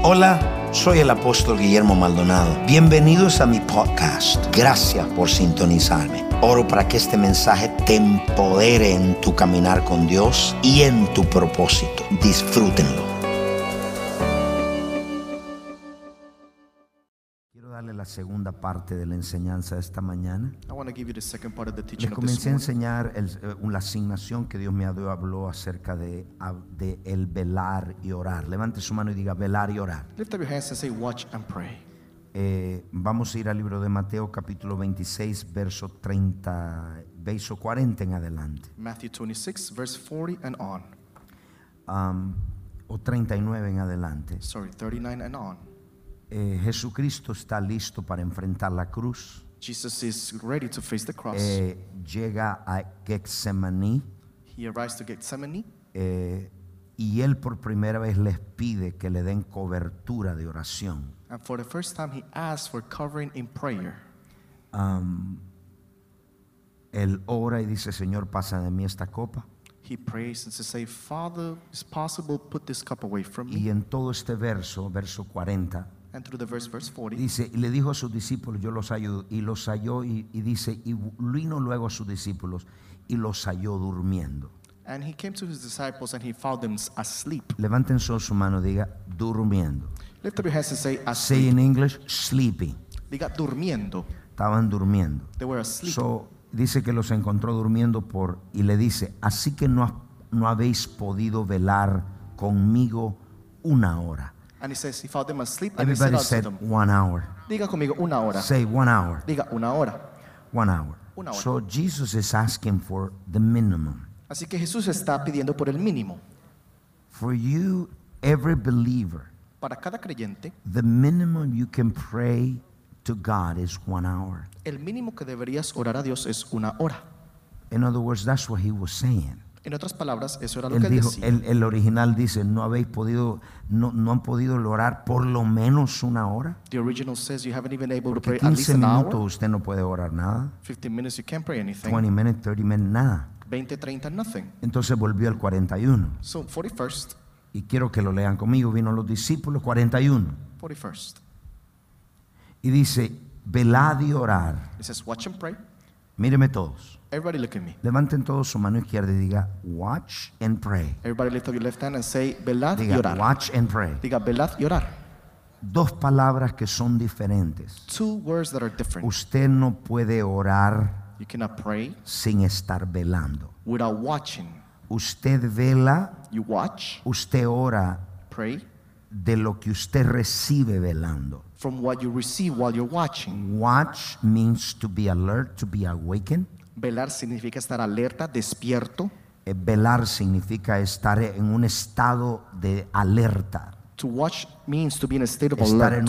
Hola, soy el apóstol Guillermo Maldonado. Bienvenidos a mi podcast. Gracias por sintonizarme. Oro para que este mensaje te empodere en tu caminar con Dios y en tu propósito. Disfrútenlo. Quiero darle la segunda parte de la enseñanza de esta mañana. Les comencé a enseñar la asignación que Dios me habló acerca de el velar y orar. Levante su mano y diga velar y orar. Lift up your hands and say watch and pray. Vamos a ir al libro de Mateo capítulo 26 verso 40 en adelante. Matthew 26 verse 40 and on. O 39 en adelante. 39 and on. Jesucristo está listo para enfrentar la cruz. Jesus is ready to face the cross. Llega a Getsemaní. He arrives to Gethsemane. Y él por primera vez les pide que le den cobertura de oración. And for the first time he asks for covering in prayer. Él ora y dice, Señor, pasa de mí esta copa. He prays and says, Father, is possible put this cup away from me? Y en todo este verso 40, and through the verse 40, dice, y le dijo a sus discípulos, yo los halló, y los halló, y dice, y vino luego a sus discípulos, y los halló durmiendo. And he came to his disciples and he found them asleep. Levanten su mano, diga, durmiendo. Lift up your hands and say asleep. Say in English, sleeping. Diga durmiendo. Estaban durmiendo. They were asleep. So, dice que los encontró durmiendo y le dice, así que no habéis podido velar conmigo una hora. And he says he found them asleep and Everybody he said said unto them, 1 hour. Diga conmigo una hora. Say 1 hour. Diga una hora. 1 hour. Una hora. So Jesus is asking for the minimum. Así que Jesús está pidiendo por el mínimo. For you, every believer, Para cada creyente, the minimum you can pray to God is 1 hour. el mínimo que deberías orar a Dios es una hora. In other words, that's what he was saying. En otras palabras, eso era lo Él que él dijo, decía. el original dice, no han podido orar por lo menos 1 hora. The original says you haven't even able to Porque pray at least 15 an minutos hour. usted no puede orar nada. 15 minutes you can't pray anything. 20 minutes, 30 minutes, nada. 20, 30, nothing. Entonces volvió al 41. So 41st, Y quiero que lo lean conmigo. Vino los discípulos, 41. 41st. Y dice, velad y orar. It says watch and pray. Míreme todos. Everybody look at me. Levanten todos su mano izquierda y diga, watch and pray. Everybody lift up your left hand and say velad y Diga, orar. watch and pray. Diga velad y orar. Dos palabras que son diferentes. Two words that are different. Usted no puede orar You cannot pray sin estar velando. without watching. Usted vela, You watch, usted ora pray de lo que usted recibe velando. from what you receive while you're watching. Watch means to be alert, to be awakened. Velar significa estar alerta, despierto. Velar significa estar en un estado de alerta, To watch means to be in a state of estar alert.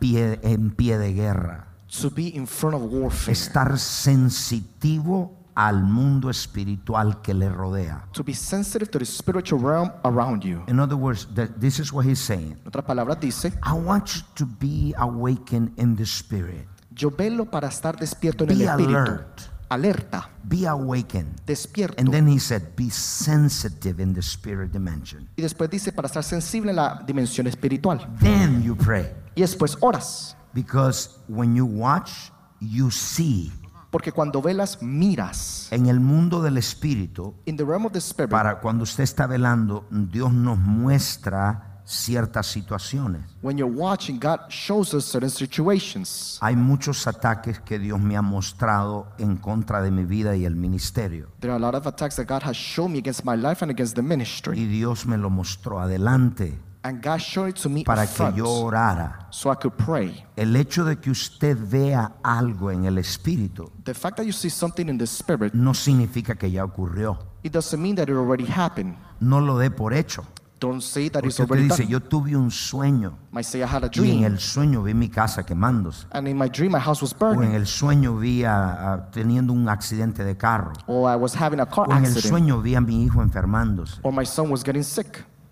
en pie de guerra, To be in front of warfare. estar sensitivo al mundo espiritual que le rodea. To be sensitive to the spiritual realm around you. In other words, this is what he's saying. En otras palabras dice, I want you to be awakened in the spirit. yo velo para estar despierto en el Be espíritu. alert. Alerta, Be awakened. despierto. And then he said, be sensitive in the spirit dimension. Y después dice para estar sensible en la dimensión espiritual. Then you pray. Y después oras. Because when you watch, you see. Porque cuando velas, miras. En el mundo del espíritu, In the realm of the spirit, para cuando usted está velando, Dios nos muestra ciertas situaciones. when you're watching, God shows us certain situations. Hay muchos ataques que Dios me ha mostrado en contra de mi vida y el ministerio. There are a lot of attacks that God has shown me against my life and against the ministry. Y Dios me lo mostró adelante And God showed it to me para up que front yo orara. so I could pray. El hecho de que usted vea algo en el espíritu The fact that you see something in the spirit, no significa que ya ocurrió. it doesn't mean that it already happened. No lo dé por hecho. Don't say that it's Porque usted already dice, done. yo tuve un sueño Might say I had a y en dream, el sueño vi mi casa quemándose. and in my dream my house was O en burning, el sueño vi teniendo un accidente de carro. or I was having a car O en el accident, sueño vi a mi hijo enfermándose. or my son was getting sick.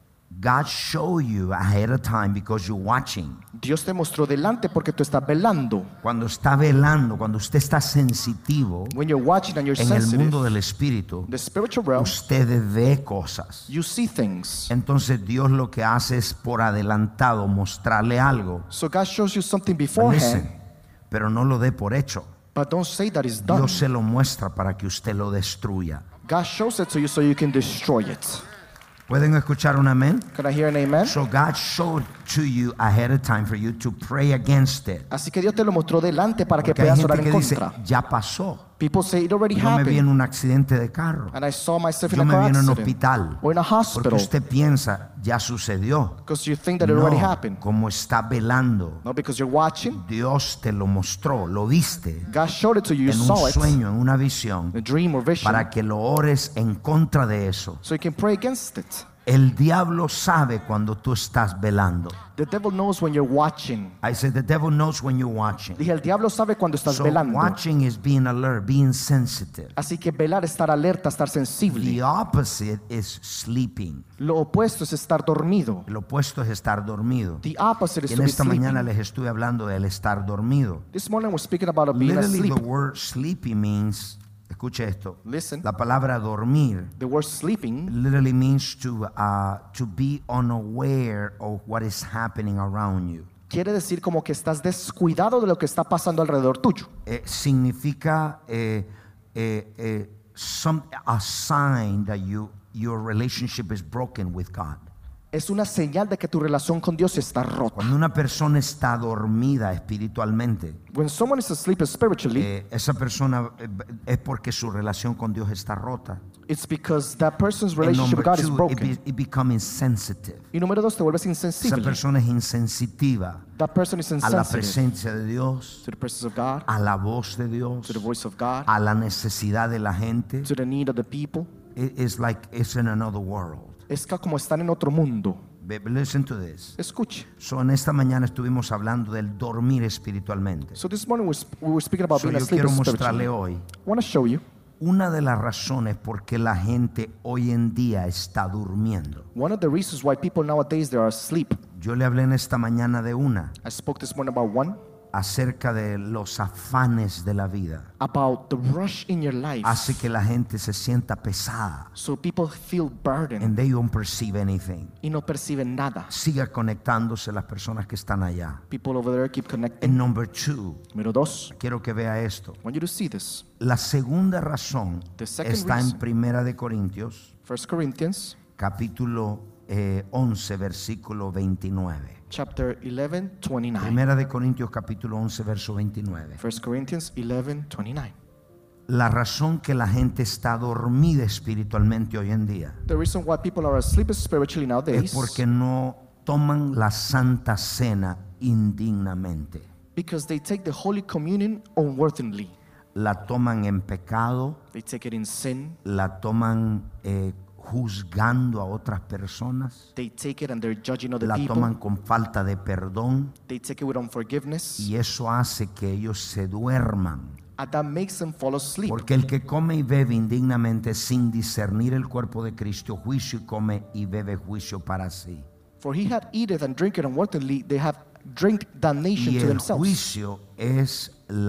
God showed you ahead of time because you're watching. Dios te mostró delante porque tú estás velando. Cuando está velando, cuando usted está sensitivo When you're watching and you're en el sensitive, mundo del espíritu, the spiritual realm, usted ve cosas. you see things. Entonces Dios lo que hace es por adelantado mostrarle algo. So God shows you something Listen, beforehand, pero no lo dé por hecho. but don't say that it's done. Dios se lo muestra para que usted lo destruya. God shows it to you so you can destroy it. ¿Pueden escuchar un amén? Can I hear an amen? So God showed to you ahead of time for you to pray against it. Así que Dios te lo mostró delante para que Porque hay puedas gente orar en que dice, contra. ya pasó. People say it already Yo me vi en happened. un accidente de carro. And I saw myself in Yo a me car vi en un accident hospital. or in a Porque hospital usted piensa, ya sucedió. because you think that it already No, happened. como está velando. No, because you're watching. Dios te lo mostró, lo viste God showed it to you. You en un saw it. sueño, en una visión, A dream or vision. para que lo ores en contra de eso. So you can pray against it. El diablo sabe cuando tú estás velando. The devil knows when you're watching. I said the devil knows when you're watching. Dije, el diablo sabe cuando estás So velando. watching is being alert, being sensitive. Así que velar, estar alerta, estar sensible. The opposite is sleeping. Lo opuesto es estar dormido. El opuesto es estar dormido. The opposite is Y to en be esta mañana sleeping. les estuve hablando del estar dormido. This morning we're speaking about being Literally asleep. the word sleepy means, escuche esto, Listen. la palabra dormir The word sleeping literally means to be unaware of what is happening around you. quiere decir como que estás descuidado de lo que está pasando alrededor tuyo. Significa a sign that your relationship is broken with God. Es una señal de que tu relación con Dios está rota. Cuando una persona está dormida espiritualmente, When someone is asleep spiritually, esa persona es porque su relación con Dios está rota. it's because that person's And relationship with number God is two, broken. it becomes insensitive. Y número dos, te vuelves Esa insensible. persona es insensitiva That person is a la insensitive presencia de Dios, to the presence of God, a la voz de Dios, to the voice of God, a la necesidad de la gente. to the need of the people. It's like it's in another world. Es que como están en otro mundo. Listen to this. Escuche. So, en esta mañana estuvimos hablando del dormir espiritualmente. So this morning we were speaking about So, being yo asleep quiero mostrarle spiritually. hoy I want to show you una de las razones por qué la gente hoy en día está durmiendo. one of the reasons why people nowadays they are asleep. Yo le hablé en esta mañana de una, I spoke this morning about one, acerca de los afanes de la vida. about the rush in your life. Hace que la gente se sienta pesada So people feel burdened and they don't perceive anything. y no perciben nada. Siga conectándose las personas que están allá. People over there keep connecting. And number two, Número dos, quiero que vea esto. I want you to see this. La segunda razón The second está en reason. Primera de Corintios, 1 Corinthians capítulo 11, versículo 29. chapter 11, 29. Primera de Corintios, capítulo 11, verso 29. 1 Corinthians 11, 29. La razón que la gente está dormida espiritualmente hoy en día The reason why people are asleep spiritually nowadays es porque no toman la Santa Cena indignamente. because they take the Holy Communion unworthily. La toman en pecado, They take it in sin. la toman juzgando a otras personas, They take it and they're judging other la people. toman con falta de perdón, They take it with unforgiveness. y eso hace que ellos se duerman. And that makes them fall asleep. Porque el que come y bebe indignamente sin discernir el cuerpo de Cristo, juicio y come y bebe juicio para sí. For he had eateth and drinketh unworthily, they have drink damnation Y to el themselves. juicio es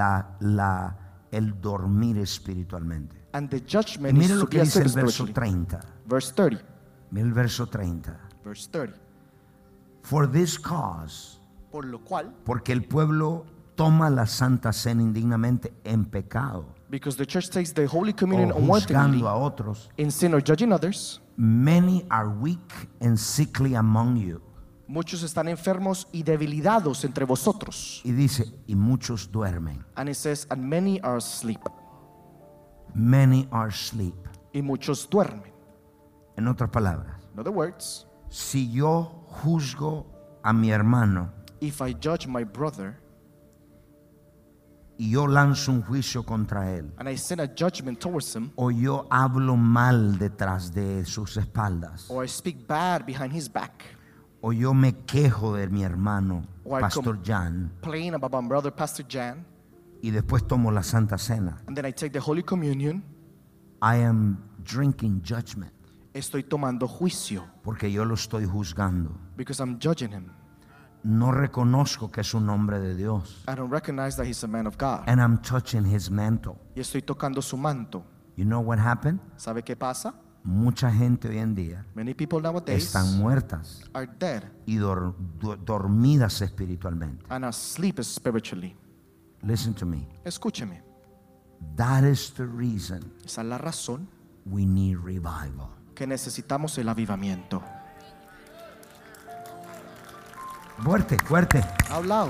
el dormir espiritualmente. And the Y judgment mire is lo to que be dice el asleep verso spiritually. 30. Verse 30. Mire el verso 30. Verse 30. For this cause, Por lo cual, porque el pueblo toma la Santa Cena indignamente en pecado, because the church takes the Holy o Communion unworthily, juzgando a otros, in sin or judging others, many are weak and sickly among you. muchos están enfermos y debilitados entre vosotros. Y dice, y muchos duermen. And it says, and many are asleep. Many are asleep. Y muchos duermen. En otras palabras, In other words, si yo juzgo a mi hermano if I judge my brother y yo lanzo un juicio contra él, and I send a judgment towards him, o yo hablo mal detrás de sus espaldas, or I speak bad behind his back, o yo me quejo de mi hermano, Or I Pastor Jan, complain about my brother, Pastor Jan, y después tomo la Santa Cena, and then I take the Holy Communion, I am drinking judgment. Estoy tomando juicio. Porque yo lo estoy juzgando. Because I'm judging him. No reconozco que es un hombre de Dios. I don't recognize that he's a man of God. And I'm touching his mantle. Y estoy tocando su manto. You know what happened? ¿Sabe qué pasa? Mucha gente hoy en día Many people nowadays están muertas are dead y dormidas espiritualmente. and asleep spiritually. Listen to me. Escúcheme. That is the reason Esa es la razón we need revival. que necesitamos el avivamiento. Fuerte, fuerte. Out loud.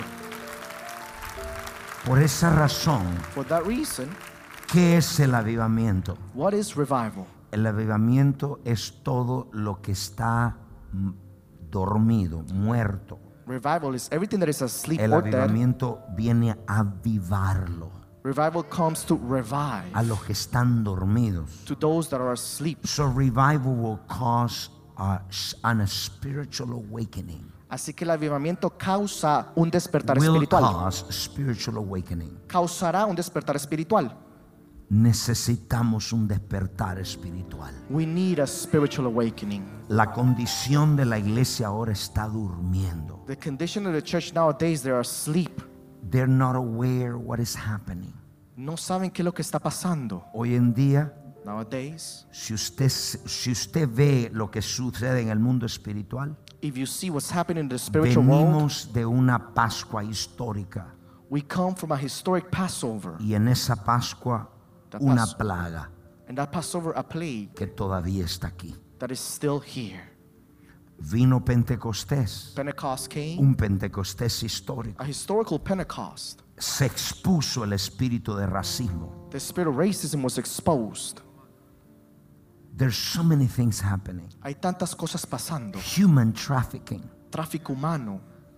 Por esa razón, For that reason, ¿qué es el avivamiento? what is revival? El avivamiento es todo lo que está dormido, muerto. Revival is everything that is asleep El or dead. avivamiento viene a avivarlo Revival comes to revive a los que están dormidos. to those that are asleep. So revival will cause an spiritual awakening. Así que el avivamiento causa un despertar Will espiritual. cause spiritual awakening. Causará un despertar espiritual. Necesitamos un despertar espiritual. We need a spiritual awakening. La condición de la iglesia ahora está durmiendo. The condition of the church nowadays, they are asleep. They're not aware what is happening. No saben qué es lo que está pasando. Hoy en día, Nowadays, si usted ve lo que sucede en el mundo espiritual, if you see what's happening in the spiritual world, venimos de una Pascua histórica we come from a historic Passover. y en esa Pascua una plaga And that Passover, a plague que todavía está aquí. that is still here. Vino Pentecostés, Pentecost came, un Pentecostés histórico. a historical Pentecost. Se expuso el espíritu de racismo. The spirit of racism was exposed. There's so many things happening. Hay tantas cosas pasando. Human trafficking. Tráfico humano.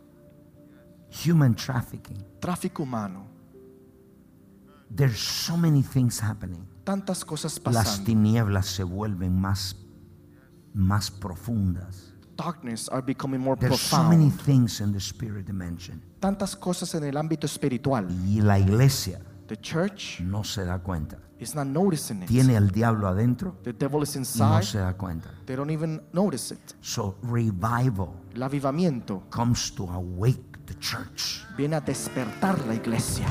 Human trafficking. Tráfico humano. There's so many things happening. Tantas cosas Las pasando. tinieblas se vuelven más profundas. Darkness are becoming more There's so many profound. things in the spirit dimension. Tantas cosas en el ámbito espiritual. Y la iglesia The church no se da cuenta. is not noticing it. Tiene el diablo adentro The devil is y no inside. se da cuenta. They don't even notice it. So revival El avivamiento comes to awake the church. viene a despertar la iglesia.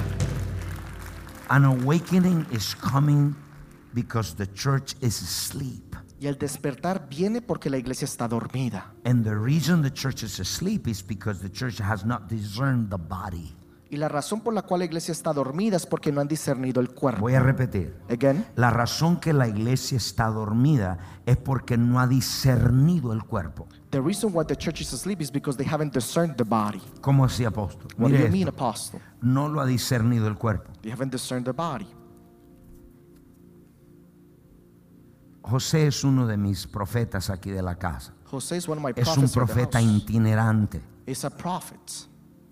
An awakening is coming because the church is asleep. Y el despertar viene porque la iglesia está dormida. And the reason the church is asleep is because the church has not discerned the body. Y la razón por la cual la iglesia está dormida es porque no han discernido el cuerpo. Voy a repetir. Again, La razón que la iglesia está dormida es porque no ha discernido el cuerpo. the reason why the church is asleep is because they haven't discerned the body. ¿Cómo así, apóstol? What do Mire you mean, esto. apostle? No lo ha discernido el cuerpo. They haven't discerned the body. José es uno de mis profetas aquí de la casa. José is one of my Es un prophets of the profeta house. itinerante. Is a prophet.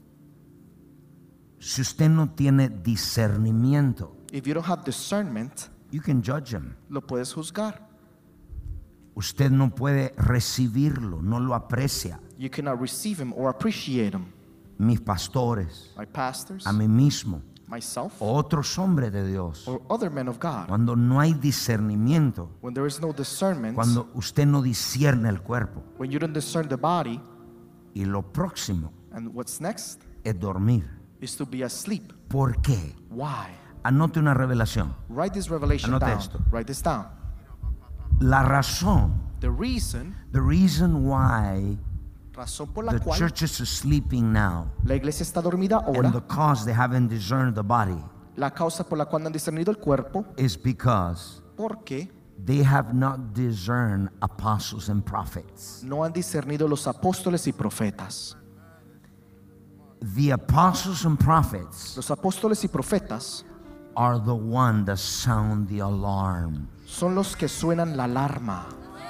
Si usted no tiene discernimiento, If you don't have discernment, you can judge him. lo puedes juzgar. Usted no puede recibirlo, no lo aprecia. You cannot receive him or appreciate him. Mis pastores, My pastors, a mí mismo, myself, o otros hombres de Dios, or other men of God. cuando no hay discernimiento, When there is no discernment, cuando usted no discierne el cuerpo, when you don't discern the body, y lo próximo and what's next es dormir. is to be asleep. ¿Por qué? Why? Anote una revelación. Write this revelation Anote down. esto. Write this down. La razón, The reason, why razón por la the cual church is sleeping now, la iglesia está dormida and ahora, the cause they haven't discerned the body, la causa por la cual no han discernido el cuerpo, is because porque they have not discerned apostles and prophets. no han discernido los apóstoles y profetas. The apostles and prophets Los apóstoles y profetas are the one that sound the alarm. son los que suenan la alarma.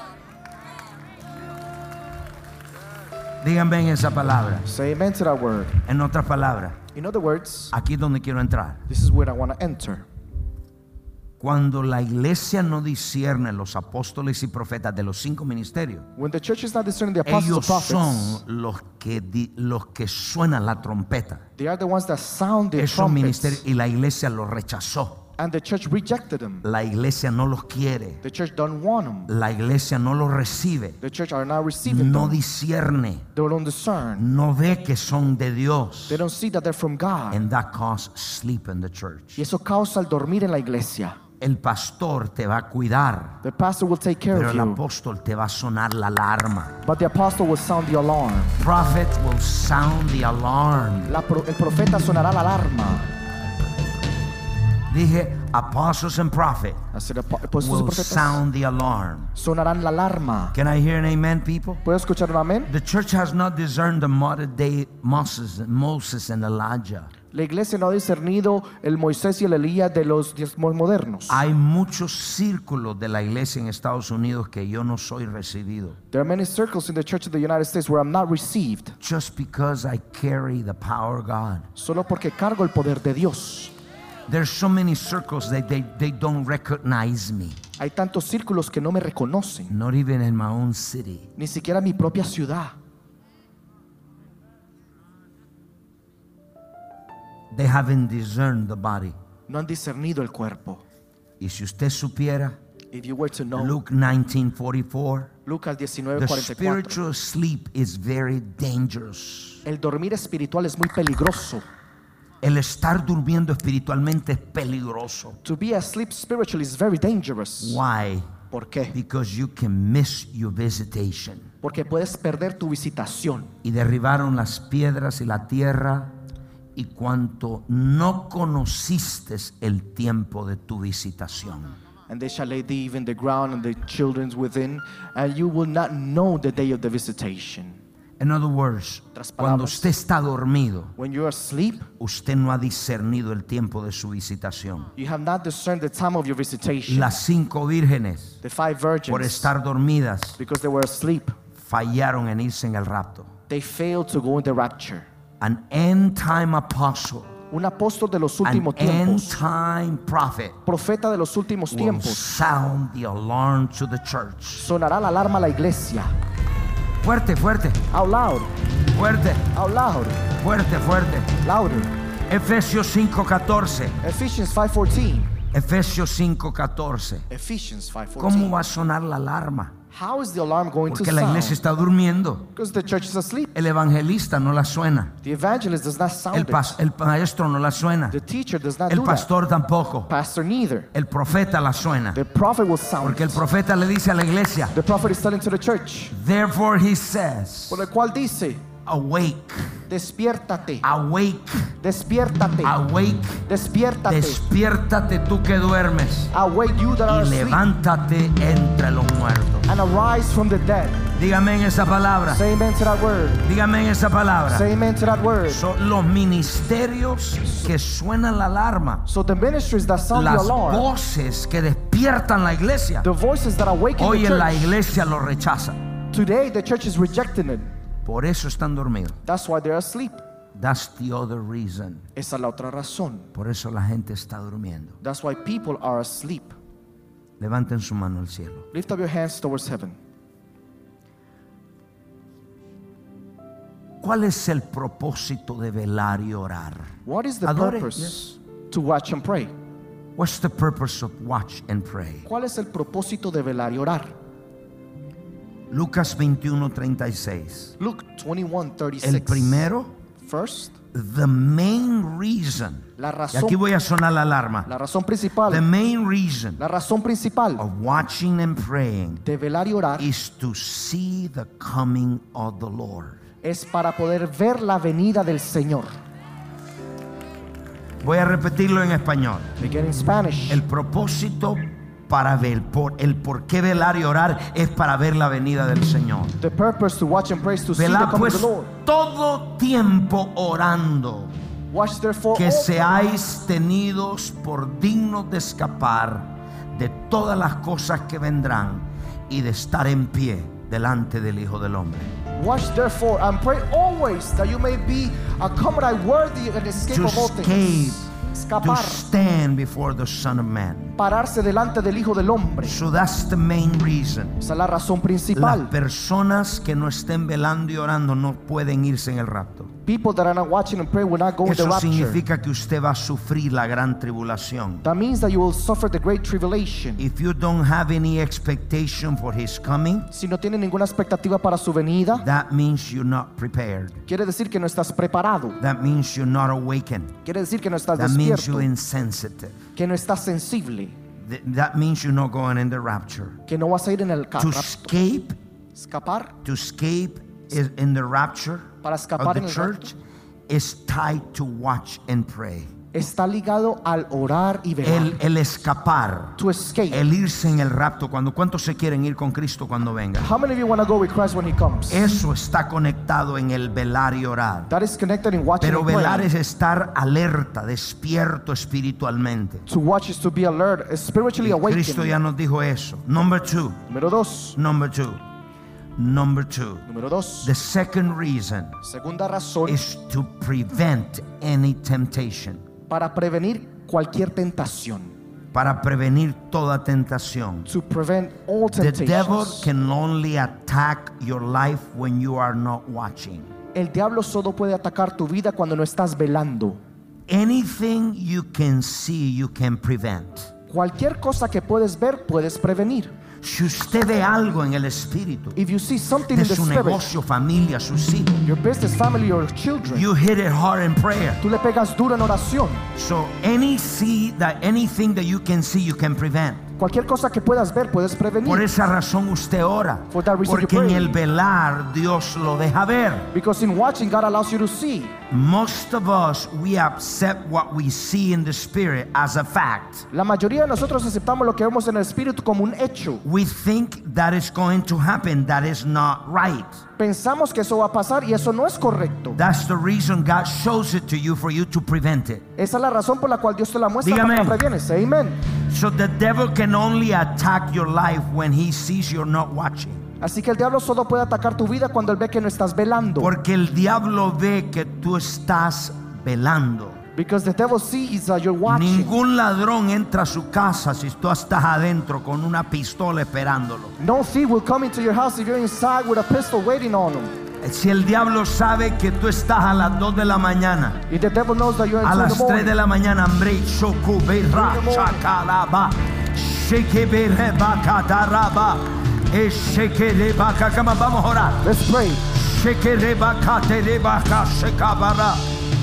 Díganme en esa palabra. Say amen to that word. En otras palabras, In other words, aquí es donde quiero entrar. this is where I want to enter. Cuando la iglesia no discierne los apóstoles y profetas de los 5 ministerios, When the church is not discerning the apostles ellos and son prophets, los que suenan la trompeta. they are the ones that sound the Esos trumpets. ministerios, y la iglesia los rechazó. And the church rejected them. La iglesia no los quiere. The church don't want them. La iglesia no los recibe. The church are not receiving No them. discierne. They don't discern. No ve que son de Dios. They don't see that they're from God. And that causes sleep in the church. Y eso causa el dormir en la iglesia. El pastor te va a cuidar. The pastor will take care Pero of el you. apóstol te va a sonar la alarma. But the apostle will sound the alarm. Prophet will sound the alarm. El profeta sonará la alarma. Dije, apostles and prophet Apóstoles y will profetas sound the alarm. sonarán la alarma. Can I hear an amen, people? ¿Puedo escuchar un amén? The church has not discerned the modern day Moses and Elijah. La iglesia no ha discernido el Moisés y el Elías de los tiempos modernos. Hay muchos círculos de la iglesia en Estados Unidos que yo no soy recibido. There are many circles in the Church of the United States where I'm not received. Just because I carry the power of God. Solo porque cargo el poder de Dios. There's so many circles that they don't recognize me. Hay tantos círculos que no me reconocen. Not even in my own city. Ni siquiera en mi propia ciudad. They haven't discerned the body. No han discernido el cuerpo. Y si usted supiera, If you were to know, Luke 19:44, Lucas the 19:44. spiritual sleep is very dangerous. El dormir espiritual es muy peligroso. El estar durmiendo espiritualmente es peligroso. To be asleep spiritually is very dangerous. Why? ¿Por qué? Because you can miss your visitation. Porque puedes perder tu visitación. Y derribaron las piedras y la tierra, y cuanto no conociste el tiempo de tu visitación. And they shall lay thee even the ground and the children within, and you will not know the day of the visitation. In other words, Otras cuando palabras, usted está dormido, when you are asleep, usted no ha discernido el tiempo de su visitación. you have not discerned the time of your visitation. Las 5 vírgenes, The 5 virgins, por estar dormidas, because they were asleep, fallaron en irse en el rapto. they failed to go in the rapture. An end time apostle, Un apóstol de los an últimos end tiempos, time prophet profeta de los últimos will tiempos, sound the alarm to the church. sonará la alarma a la iglesia. Fuerte, fuerte, Out loud, fuerte, out loud, fuerte, fuerte. louder. Efesios 5:14. Ephesians 5:14. Efesios 5:14. Ephesians 5:14. ¿Cómo va a sonar la alarma? How is the alarm going to Porque la iglesia sound? está durmiendo. Because the church is asleep. El evangelista no la suena. The evangelist does not sound it. El maestro no la suena. The teacher does not El do that. pastor tampoco. Pastor neither. El profeta la suena. The prophet will sound Porque el it. profeta le dice a la iglesia, The prophet is telling to the church. therefore he says, Por el cual dice, awake, despiértate, awake, despiértate, awake, despiértate. despiértate tú que duermes Awake you that are y asleep, levántate entre los muertos. and arise from the dead. Dígame en esa palabra. Say amen to that word. Dígame en esa palabra. Say amen to that word. Son los ministerios que suenan la alarma, So the ministries that sound the las alarm, voces que despiertan la iglesia. the voices that awaken Hoy the en la church. iglesia lo rechaza. Today the church is rejecting it. Por eso están dormidos. That's why they're asleep. That's the other reason. Esa es la otra razón. Por eso la gente está durmiendo. That's why people are asleep. Levanten su mano al cielo. Lift up your hands towards heaven. ¿Cuál es el propósito de velar y orar? What is the Adore, purpose to watch and pray? What's the purpose of watch and pray? ¿Cuál es el propósito de velar y orar? Lucas 21:36. Luke 21:36. El primero, First, the main reason. la Y razón, aquí voy a sonar la alarma. la razón principal, The main reason la razón principal of watching and praying de velar y orar is to see the coming of the Lord. es para poder ver la venida del Señor. Voy a repetirlo en español. Begin in Spanish. El propósito para ver, el por qué velar y orar es para ver la venida del Señor. The purpose to watch and pray is to see the Velad coming of pues the Lord. todo tiempo orando, Watch therefore que all seáis tenidos por dignos de escapar de todas las cosas que vendrán y de estar en pie delante del Hijo del Hombre. Watch therefore and pray always that you may be accompanied worthy and escape To of all escape, things. to Escapar, stand before the Son of Man. pararse delante del Hijo del Hombre. So that's the main reason. Esa es la razón Las principal. personas que no estén velando y orando no pueden irse en el rapto. People that are not watching and praying will not go in the Eso rapture. significa que usted va a sufrir la gran tribulación. That means that you will suffer the great tribulation. If you don't have any expectation for his coming, Si no tiene ninguna expectativa para su venida, that means you're not prepared. quiere decir que no estás preparado. That means you're not awakened. Quiere decir que no estás That means despierto, you're insensitive. que no estás sensible, That means you're not going in the rapture. que no vas a ir en el To rapto. escape is in the rapture Para of escapar the en el church is tied to watch and pray. Está ligado al orar y velar. El escapar, To escape. el irse en el rapto. ¿Cuántos se quieren ir con Cristo cuando venga? How many of you want to go with Christ when he comes? Eso está conectado en el velar y orar. That is connected in watching Pero and velar praying. es estar alerta, despierto espiritualmente. To watch is to be alert, spiritually Y awakened. Cristo ya nos dijo eso. Number two. Número dos. Número dos. The second reason Segunda razón, is to prevent any temptation. para prevenir cualquier tentación. Para prevenir toda tentación. To prevent all The devil temptations. can only attack your life when you are not watching. El diablo solo puede atacar tu vida cuando no estás velando. Anything you can see, you can prevent. Cualquier cosa que puedes ver, puedes prevenir. Si usted ve algo en el espíritu If you see something de in the su spirit, negocio, familia, sus hijos, your business, family, your children, you hit it hard in prayer. tú le pegas duro en oración. So anything that you can see, you can prevent. Cualquier cosa que puedas ver, puedes prevenir. Por esa razón usted ora, For that reason you porque en pray. el velar Dios lo deja ver. Because in watching, God allows you to see. Most of us, we accept what we see in the spirit as a fact. La mayoría de nosotros aceptamos lo que vemos en el espíritu como un hecho. We think that is going to happen. That is not right. Pensamos que eso va a pasar y eso no es correcto. That's the reason God shows it to you for you to prevent it. Esa es la razón por la cual Dios te la muestra Dígame. para que la previenes. Amen. So the devil can only attack your life when he sees you're not watching. Así que el diablo solo puede atacar tu vida cuando él ve que no estás velando. Porque el diablo ve que tú estás velando. Because the devil sees that you're watching. Ningún ladrón entra a su casa si tú estás adentro con una pistola esperándolo. No thief will come into your house if you're inside with a pistol waiting on him. Si el diablo sabe que tú estás a las 2 de la mañana, If the devil knows that you're a in the las 3 morning, de la mañana, hambre, shokubera, chakalaba, shekebereba, kataraba, eshekereba, kakama. Vamos a orar. let's pray. Shekereba, katereba, kashekabara,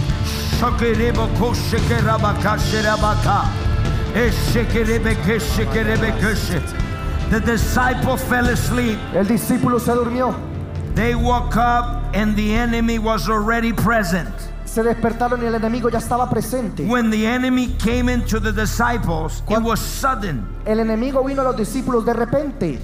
shokereba, koshekeraba, kasherabaka, eshekerebe, keshekerebe, keshe. The disciple fell asleep. El discípulo se durmió. They woke up and the enemy was already present. Se despertaron y el enemigo ya estaba presente. When the enemy came into the disciples, it was sudden. El enemigo vino a los discípulos de repente.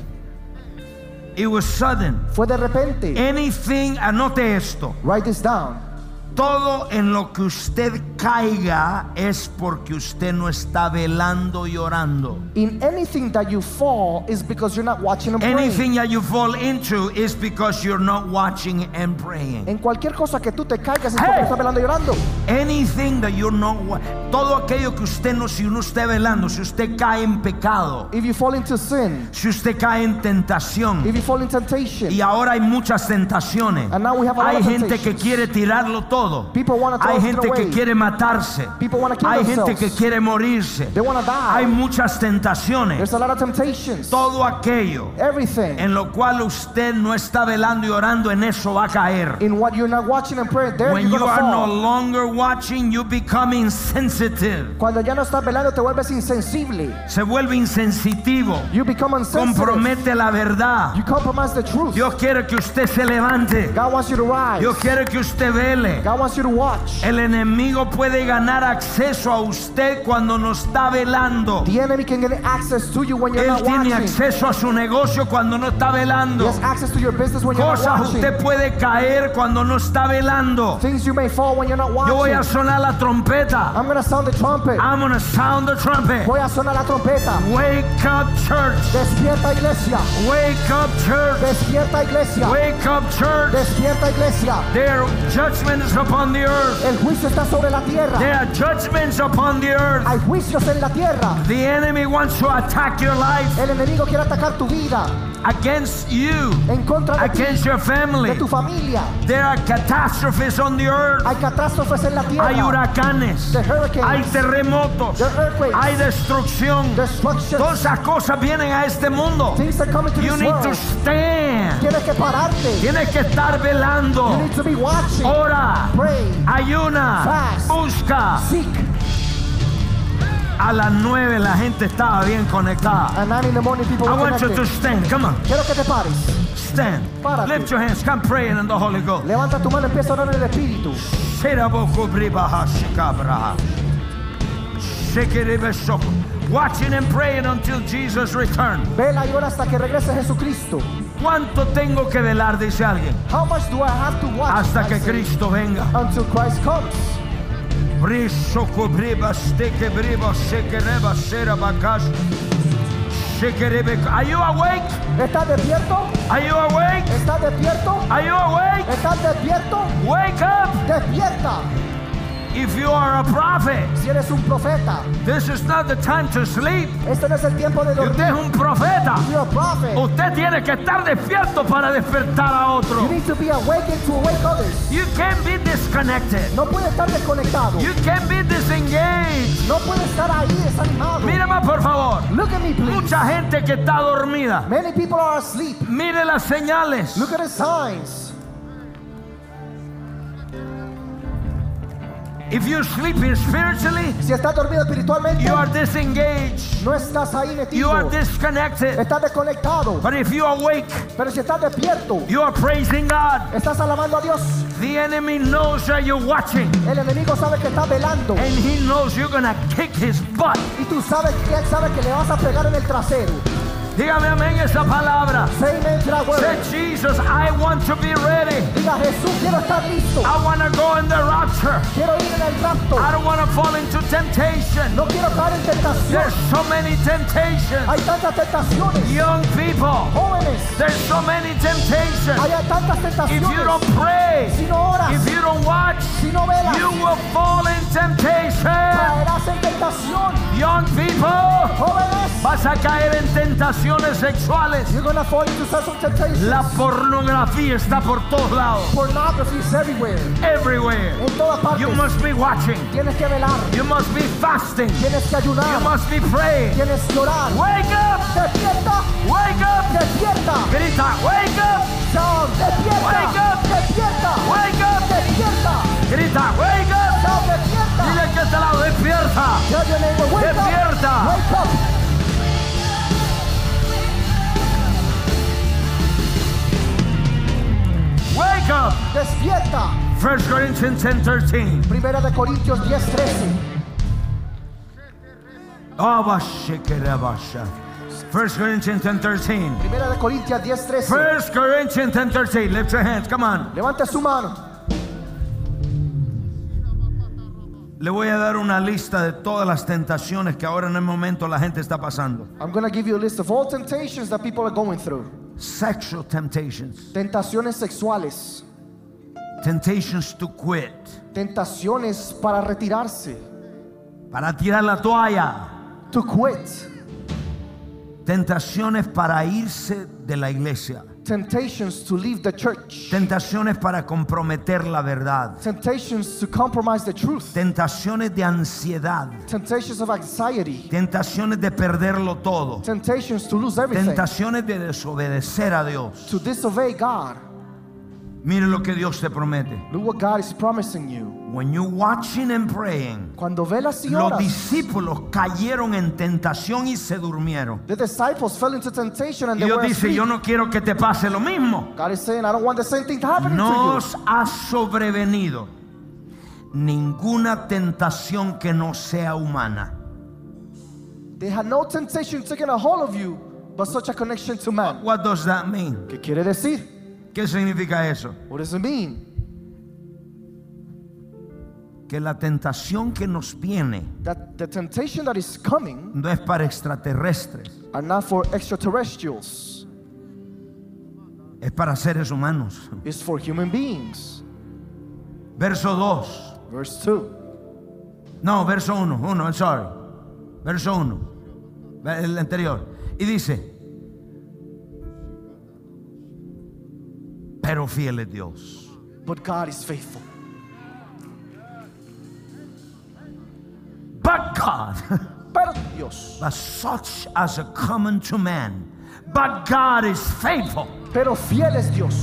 It was sudden. Fue de repente. Anything, anote esto. Write this down. Todo en lo que usted caiga es porque usted no está velando y orando. In anything that you fall is because you're not watching and praying. Anything that you fall into is because you're not watching and praying. En cualquier cosa que tú te caigas es porque estás velando y orando. Anything that you're not, todo aquello que usted no, si uno esté velando, si usted cae en pecado, If you fall into sin, si usted cae en tentación, if you fall in temptation, y ahora hay muchas tentaciones. and now we have a lot Hay of gente que temptations. quiere tirarlo todo. People want to Hay throw it gente que away. quiere matarse. People want to kill Hay gente themselves. que quiere morirse. They want to die. Hay muchas tentaciones. There's a lot of temptations. Todo aquello Everything en lo cual usted no está velando y orando, en eso va a caer. in what you're not watching and praying, there When you're you going to are no fall. longer watching, you become insensitive. Cuando ya no estás velando te vuelves insensible. Se vuelve insensitivo. You become insensitive. Compromete la verdad. You compromise the truth. Dios quiere que usted se levante. God wants you to rise. Dios quiere que usted vele. God wants you to watch. El enemigo puede ganar acceso a usted cuando no está velando. The enemy can get access to you when you're Él not tiene watching. acceso a su negocio cuando no está He velando. has access to your business when you're not Cosas watching. usted puede caer cuando no está velando. Things you may fall when you're not Yo voy watching. a sonar la trompeta. I'm going to sound the trumpet. I'm gonna sound the trumpet. Voy a sonar la trompeta. Wake up, church. Despierta, iglesia. Wake up, church. Despierta, iglesia. Wake up, church. Despierta, iglesia. Their judgment is upon the earth. El juicio está sobre la tierra. There are judgments upon the earth. Hay juicios en la tierra. The enemy wants to attack your life. El enemigo quiere atacar tu vida. against you, en contra de against ti, your family. de tu familia. There are catastrophes on the earth. Hay catástrofes en la tierra. Hay huracanes, The hurricanes, hay terremotos, the earthquakes, hay destrucción. destruction. Todas esas cosas vienen a este mundo. Things are coming to You this need world. to stand. Tienes que pararte. Tienes que estar You velando. need to be watching. Ora, Pray. ayuna, Fast. busca. Seek. A las 9 la gente estaba bien conectada. At 9 in the morning, people I were want you to connected. stand. Come on, Quiero que te pares. stand. Párate. Lift your hands. Come praying in the Holy Ghost. Levanta tu mano y empieza a orar en el Espíritu. Watching and praying until Jesus returns. Vela y ora hasta que regrese Jesucristo. ¿Cuánto tengo que velar? Dice alguien. How much do I have to watch? Hasta I que say, Cristo venga. until Christ comes. Are you awake? ¿Estás despierto? Are you awake? ¿Estás despierto? Are you awake? ¿Estás despierto? Wake up! Despierta. If you are a prophet, Si eres un profeta, this is not the time to sleep. este no es el tiempo de Si usted dormir. es un profeta, You're a prophet. usted tiene que estar despierto para despertar a otro. You need to be awakened to awake others. You can't be disconnected. No puede estar desconectado. You can't be disengaged. No puede estar ahí desanimado. Mírame por favor. Look at me, please. Mucha gente que está dormida. Many people are asleep. Mire las señales. Look at the signs. If you're sleeping spiritually, Si estás dormido espiritualmente, you are disengaged. no estás ahí You are metido. disconnected. Estás desconectado. But if you awake, Pero si estás despierto, you are praising God. estás alabando a Dios. The enemy knows that you're watching, El enemigo sabe que estás velando. and he knows you're gonna kick his butt. Y tú sabes que él sabe que le vas a pegar en el trasero. Dígame amén esa palabra. Say amen to that word. Say, Jesus, I want to be ready. Diga, Jesús, quiero estar listo. I want to go in the rapture. Quiero ir en el rapto. I don't want to fall into temptation. No quiero caer en tentación. There's so many temptations. Hay tantas tentaciones. Young people, Jóvenes, there's so many temptations. hay tantas If tentaciones. you don't pray, Si no oras, if you don't watch, si no velas, you will fall in temptation. caerás en tentación. Young people, Jóvenes, vas a caer en tentaciones sexuales. you're gonna fall into sexual temptations. La pornografía está por todos lados. Pornography is everywhere. Everywhere. En todas partes. You must be watching. Tienes que velar. You must be fasting. Tienes que You ayunar. must be praying. Tienes que orar. Wake up! Despierta. Wake up! Despierta. Grita, wake up! Sound. Despierta. Wake up. Despierta. Wake up! Despierta. Grita, wake up! Sound. Despierta. Dile que te lado, despierta. Tell your neighbor, wake Despierta. up. Wake up. Wake up! Despierta. 1 Corinthians 10:13. Primera de Corintios 10:13. 1 Corinthians 10:13. Primera de Corintios 10:13. 1 Corinthians 10:13. Lift your hands, come on. Levante su mano. Le voy a dar una lista de todas las tentaciones que ahora en el momento la gente está pasando. I'm going to give you a list of all temptations that people are going through. Sexual temptations. Tentaciones sexuales. Temptations to quit. Tentaciones para retirarse. Para tirar la toalla. To quit. Tentaciones para irse de la iglesia. Temptations to leave the church. Tentaciones para comprometer la verdad. Temptations to compromise the truth. Tentaciones de ansiedad. Temptations of anxiety. Tentaciones de perderlo todo. Temptations to lose everything. Tentaciones de desobedecer a Dios. To disobey God. Mire lo que Dios te promete. Look what God is promising you. When you're watching and praying, Cuando velas y los oras, discípulos cayeron en tentación y se durmieron. the disciples fell into temptation and Y they Dios were dice, asleep. yo no quiero que te pase lo mismo. God is saying, I don't want the same thing to happen No to os ha sobrevenido ninguna tentación que no sea humana. you. They had no temptation taking a hold of you, but such a connection to man. What does that mean? ¿Qué quiere decir? ¿Qué significa eso? What does it mean? Que la tentación que nos viene That the temptation that is coming no es para extraterrestres, are not for extraterrestrials. es para seres humanos. It's for human beings. Verso 2. Verse 2. No, verso 1. I'm sorry. Verso 1. El anterior. Y dice, Pero fiel es Dios. But God is faithful. But God. Pero Dios. But such as are common to man. But God is faithful. Pero fiel es Dios.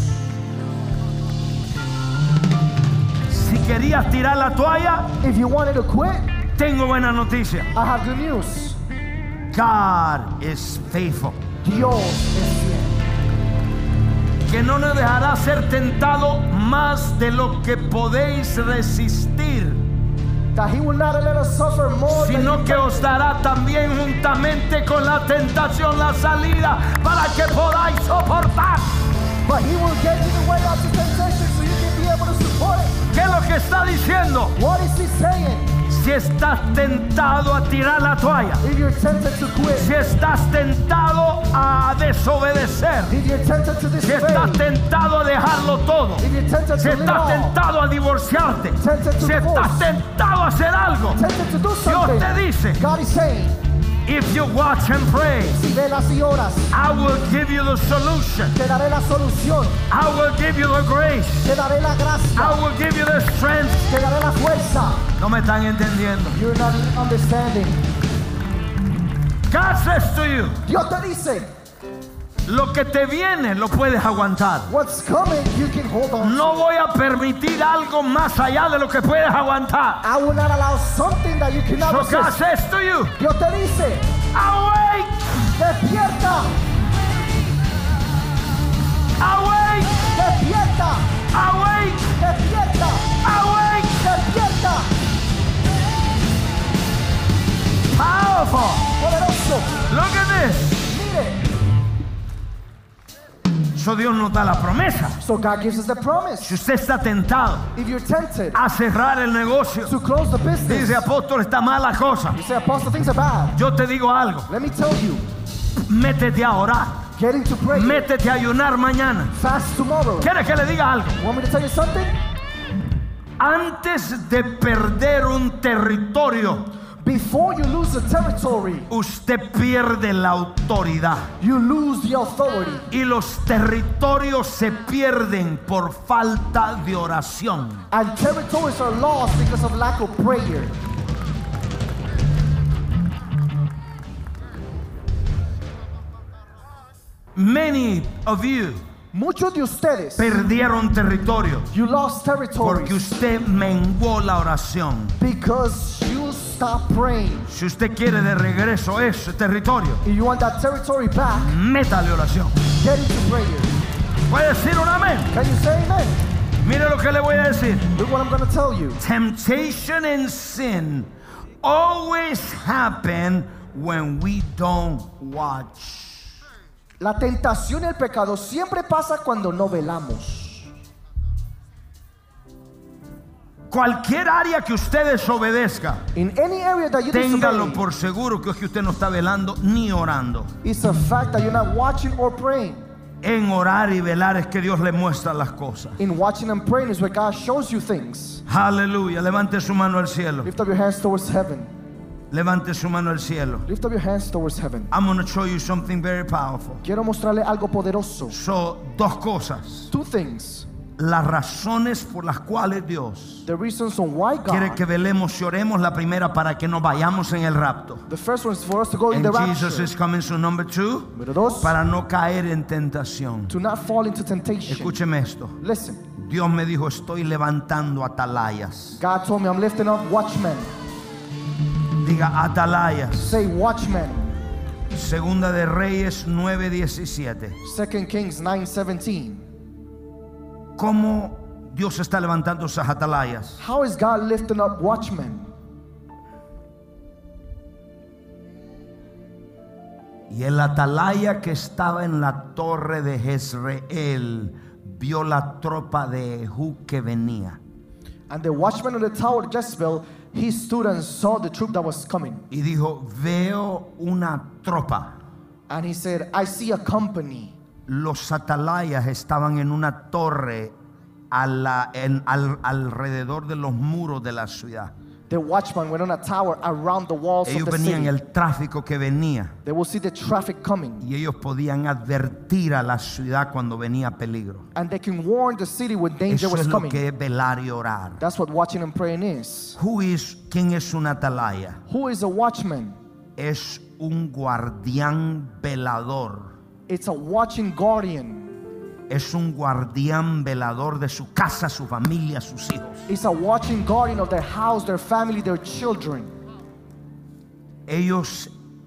Si querías tirar la toalla, if you wanted to quit, tengo buena noticia. I have good news. God is faithful. Dios es fiel. Que no nos dejará ser tentado más de lo que podéis resistir, That he will not let us suffer more sino que os dará también juntamente con la tentación la salida para que podáis soportar. But he will get you the way out of temptation so you can be able to support it. ¿Qué es lo que está diciendo? What is he saying? Si estás tentado a tirar la toalla, If you're tempted to quit, si estás tentado a desobedecer, if you're tempted to si disobey, estás tentado a dejarlo todo, if you're tempted si to leave estás all, tentado a divorciarte, tempted to si estás divorce, tentado a hacer algo, tempted to do Dios something, te dice, God is saying, if you watch and pray, si velas y oras, I will give you the solution. te daré la solución, I will give you the grace. te daré la gracia, I will give you the strength. te daré la fuerza. No me están entendiendo. You're not understanding. God says to you, Dios te dice, lo que te viene lo puedes aguantar. what's coming, you can hold on. No voy a permitir algo más allá de lo que puedes aguantar. I will not allow something that you cannot So God resist. says to you, Dios te dice, awake, despierta, awake, despierta, awake, despierta, awake. despierta. Powerful. Poderoso. Look at this. Mire. So Dios nos da la promesa. So God gives us the promise. Si usted está tentado If you're tempted a cerrar el negocio, to close the business, dice apóstol, está mala cosa. you say, Apostle, things are bad. Yo te digo algo. Let me tell you, Métete a orar. get into prayer. Métete a ayunar mañana. Fast tomorrow. ¿Quieres que le diga algo? Want me to tell you something? Antes de perder un territorio, Before you lose the territory, usted pierde la autoridad. you lose the authority. Y los territorios se pierden por falta de oración. And territories are lost because of lack of prayer. Many of you Muchos de ustedes, perdieron territorio you lost territory porque usted menguó la oración. because you stopped praying. Si usted quiere de regreso ese territorio, If you want that territory back, métale oración. get into prayer. ¿Puede decir un amén? Can you say amen? Mire lo que le voy a decir. Look what I'm going to tell you. Temptation and sin always happen when we don't watch. La tentación y el pecado siempre pasa cuando no velamos. Cualquier área que usted desobedezca, In any area that you téngalo disobey, por seguro que es que usted no está velando ni orando. it's a fact that you're not watching or praying. En orar y velar es que Dios le muestra las cosas. In watching and praying is where God shows you things. Aleluya. Levante su mano al cielo. Lift up your hands towards heaven. Levante su mano al cielo. Lift up your hands towards heaven. I'm going to show you something very powerful. Quiero mostrarle algo poderoso. So, dos cosas. Two things. Las razones por las cuales Dios The reasons on why quiere God. que velemos y oremos. La primera, para que nos vayamos en el rapto. The first one is for us to go in And the Jesus rapture. is coming soon. Number two, Número dos, para no caer en tentación. to not fall into temptation. Escúcheme esto. Listen, Dios me dijo, estoy levantando atalayas. God told me I'm lifting up watchmen. Diga atalayas. Say watchmen. Segunda de Reyes 9:17. 2 Kings 9:17. ¿Cómo Dios está levantando esas atalayas? How is God lifting up watchmen? Y el atalaya que estaba en la torre de Jezreel vio la tropa de Jehú que venía. And the watchman on the tower of Jezebel, he stood and saw the troop that was coming. Y dijo, veo una tropa. And he said, I see a company. Los atalayas estaban en una torre alrededor de los muros de la ciudad. The watchman went on a tower around the walls Ellos of the venían city. el tráfico que venía. They will see the traffic coming. Y ellos podían advertir a la ciudad cuando venía peligro. And they can warn the city when danger Eso was es lo coming. que es velar y orar. That's what watching and praying is. ¿Quién es un atalaya? Who is a watchman? Es un guardián velador. It's a watching guardian. Es un guardián velador de su casa, su familia, sus hijos. It's a watching guardian of their house, their family, their children. Ellos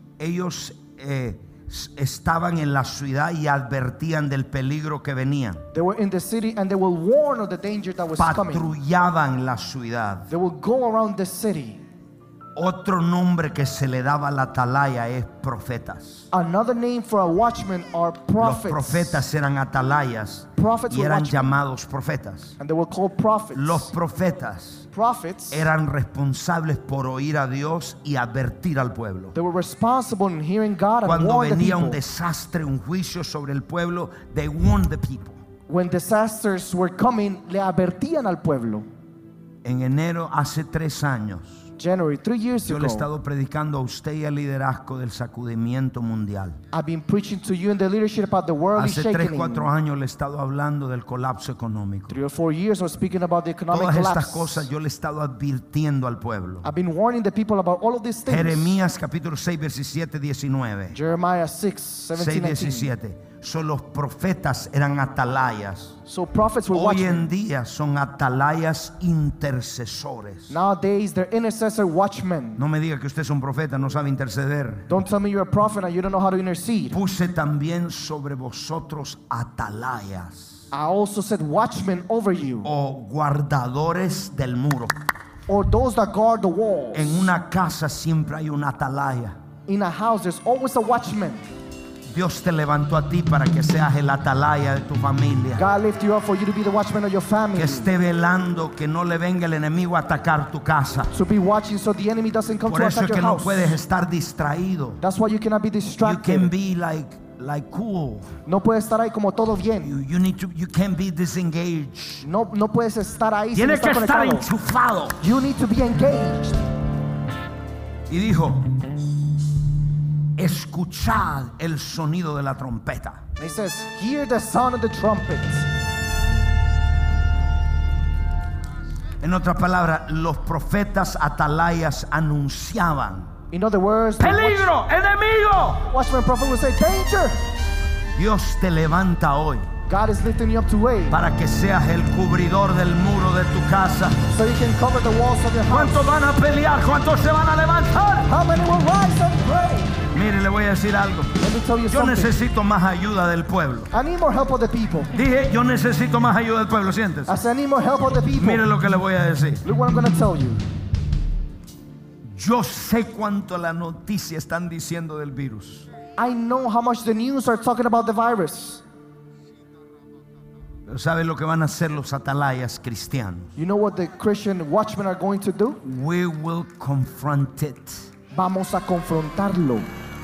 estaban en la ciudad y advertían del peligro que venía. They were in the city and they will warn of the danger that was coming. Patrullaban la ciudad. They will go around the city. Otro nombre que se le daba a la atalaya es profetas. Another name for a watchman are prophets. Los profetas eran atalayas Prophets y were eran watchmen. llamados profetas. And they were called prophets. Los profetas Prophets, eran responsables por oír a Dios y advertir al pueblo. they were responsible in hearing God and Cuando warn the venía people. un desastre, un juicio sobre el pueblo, they warned the people. When disasters were coming, le advertían al pueblo. En enero, hace 3 años, January, 3 years yo le he ago, estado predicando a usted y al liderazgo del sacudimiento mundial. I've been preaching to you in the leadership about the worldly Hace 3, shaking. 4 años le he estado hablando del colapso económico. 3 or 4 years, I was speaking about the economic Todas estas collapse. cosas yo le he estado advirtiendo al pueblo. I've been warning the people about all of these things. Jeremías capítulo 6, 17, 19. Jeremiah 6, 6, 17, 19. 17. Los profetas eran atalayas. So prophets were Hoy watchmen. en día son atalayas intercesores. Nowadays, they're intercessor watchmen. No me diga que usted es un profeta, no sabe interceder. Don't tell me you're a prophet and you don't know how to intercede. Puse también sobre vosotros atalayas I also said watchmen over you, o guardadores del muro. or those that guard the walls. En una casa siempre hay una atalaya. In a house, there's always a watchman. Dios te levantó a ti para que seas el atalaya de tu familia. God lift you up for you to be the watchman of your family. Que esté velando que no le venga el enemigo a atacar tu casa. To be watching so the enemy doesn't come Por to eso attack es your que no house. puedes estar distraído. That's why you cannot be You distracted. can be like cool. No puedes estar ahí como todo bien. You can't be disengaged. No puedes estar ahí sin Tienes que estar estar conectado. enchufado. You need to be engaged. Y dijo: escuchad el sonido de la trompeta. And he says, hear the sound of the trumpet. En otras palabras, los profetas atalayas anunciaban In other words, the peligro, enemigo. watchman prophet will say, danger. Dios te levanta hoy God is lifting you up to wait, para que seas el cubridor del muro de tu casa. so you can cover the walls of your house. ¿Cuántos van a pelear? ¿Cuántos se van a levantar? How many will rise and pray? Mire, le voy a decir algo. Let me tell you Yo something. necesito más ayuda del pueblo. I need more help of the people. Dije, yo necesito más ayuda del pueblo. Siéntese. I said, I need more help of the people. Mire lo que le voy a decir. Look what I'm going to tell you. Yo sé cuánto la noticia están diciendo del virus. I know how much the news are talking about the virus. Pero ¿sabe lo que van a hacer los atalayas cristianos? You know what the Christian watchmen are going to do? We will confront it. Vamos a confrontarlo.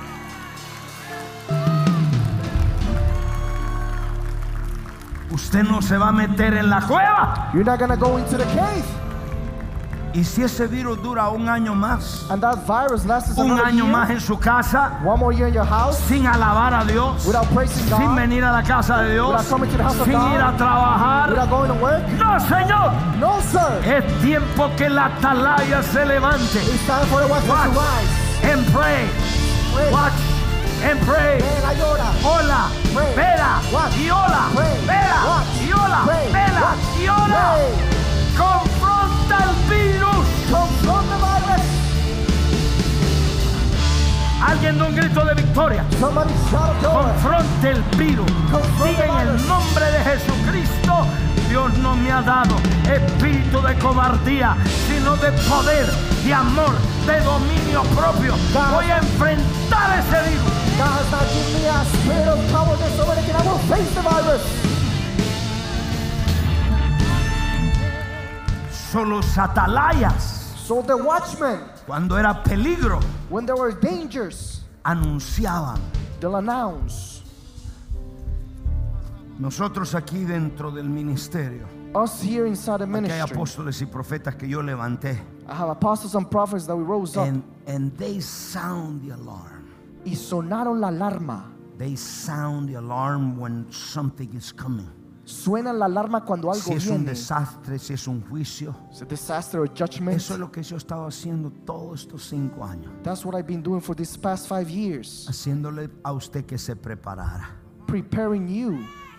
Usted no se va a meter en la cueva. You're not going to go into the cave. Y si ese virus dura un año más, And that virus lasts un another año year, más en su casa, one more year in your house, sin alabar a Dios, without praising sin God, venir a la casa de Dios, without coming to the house of sin God, ir a trabajar. without going to work. No, Señor. No, sir. Es tiempo que la atalaya se levante. It's time for the watchman to rise. And pray. Pray. Watch and pray. Vela y ora. Hola, Pray. vela Watch. y hola, Pray. vela Watch. y hola, Pray. vela Watch. y hola. Pray. Confronta el virus. Confront the virus. Alguien da un grito de victoria. Somebody shout joy. Confronte el virus. Confront Diga the en el virus. nombre de Jesucristo: Dios no me ha dado espíritu de cobardía, sino de poder, de amor, de dominio propio. God. Voy a enfrentar ese virus. God has not given me a spirit of cowardice or anything. I will face the virus. Son los atalayas. So the watchmen, Cuando era peligro, when there were dangers, anunciaban. they'll announce. Nosotros aquí dentro del ministerio Us here inside the Aquí hay ministry, apóstoles y profetas que yo levanté. I have apostles and prophets that we rose up. And they sound the alarm. Y sonaron la alarma. They sound the alarm when something is coming. Suena la alarma cuando algo Si es viene. un desastre, si es un juicio. It's a disaster or judgment. Eso es lo que yo he estado haciendo todos estos 5 años. That's what I've been doing for these past 5 years. Haciéndole a usted que se preparara. Preparing you.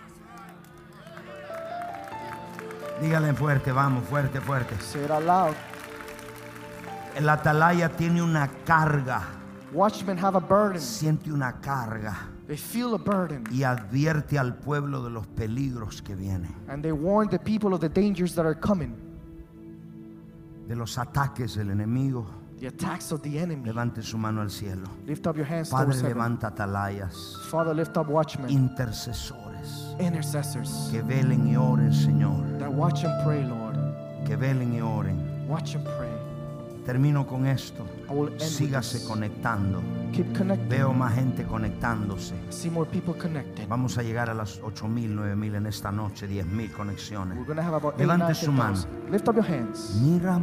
Dígale fuerte, vamos, fuerte, fuerte. Say it out loud. El atalaya tiene una carga. Watchmen have a burden. Siente una carga. They feel a burden. Y advierte al pueblo de los peligros que vienen. And they warn the people of the dangers that are coming. De los ataques del enemigo. The attacks of the enemy. Levante su mano al cielo. Lift up your hands Padre, towards heaven. levanta atalayas. Father, lift up watchmen. Intercesores. Intercessors. Que velen y oren, Señor. That watch and pray, Lord. Que velen y oren. Watch and pray. Termino con esto. I will end with Sígase this. conectando. Keep connecting. Veo más gente conectándose. I see more people connected. Vamos a llegar a las 8,000, 9,000 en esta noche, 10,000 conexiones. We're going to have about 8, Levante 9, su mano. 10,000. Lift up your hands.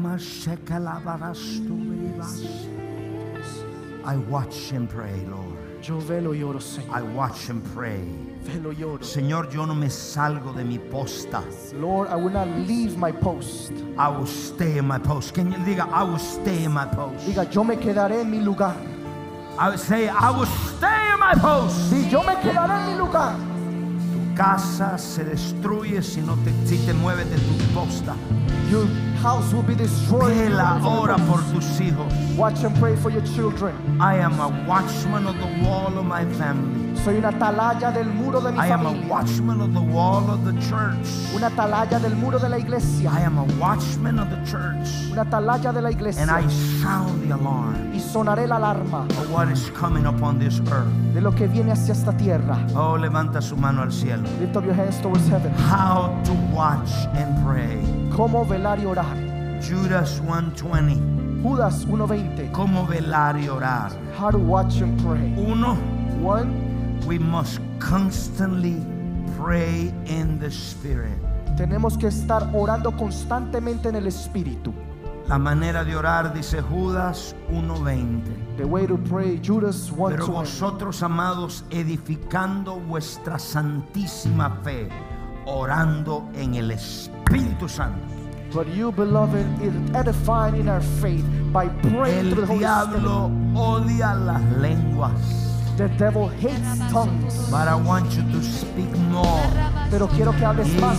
I watch him pray, Lord. Yo velo y oro, Señor. I watch him pray. Velo y oro. Señor, yo no me salgo de mi posta. Lord, I will not leave my post. I will stay in my post. Can you diga, I will stay in my post? Diga, yo me quedaré en mi lugar. I would say, I will stay in my post. Y yo me quedaré en mi lugar. Tu casa se destruye si te mueves de tu posta. Your house will be destroyed. Vela ahora por tus hijos. Watch and pray for your children. I am a watchman of the wall of my family. Soy una atalaya del muro de mi I am a familia. watchman of the wall of the church. Una atalaya del muro de la iglesia. I am a watchman of the church. Una atalaya de la iglesia. And I sound the alarm Y sonaré la alarma of what is coming upon this earth. de lo que viene hacia esta tierra. Oh, levanta su mano al cielo. Lift up your hands towards heaven. How to watch and pray. Cómo velar y orar. Judas 1:20. Judas 1:20. Cómo velar y orar. How to watch and pray. 1. We must constantly pray in the Spirit. Tenemos que estar orando constantemente en el Espíritu. La manera de orar, dice Judas 1:20. The way to pray, Judas 1:20. Pero vosotros, amados, edificando vuestra santísima fe, orando en el Espíritu Santo. But you, beloved, is edifying in our faith by praying through the El Holy diablo Spirit. odia las lenguas. The devil hates tongues. But I want you to speak more. Pero quiero que hables más.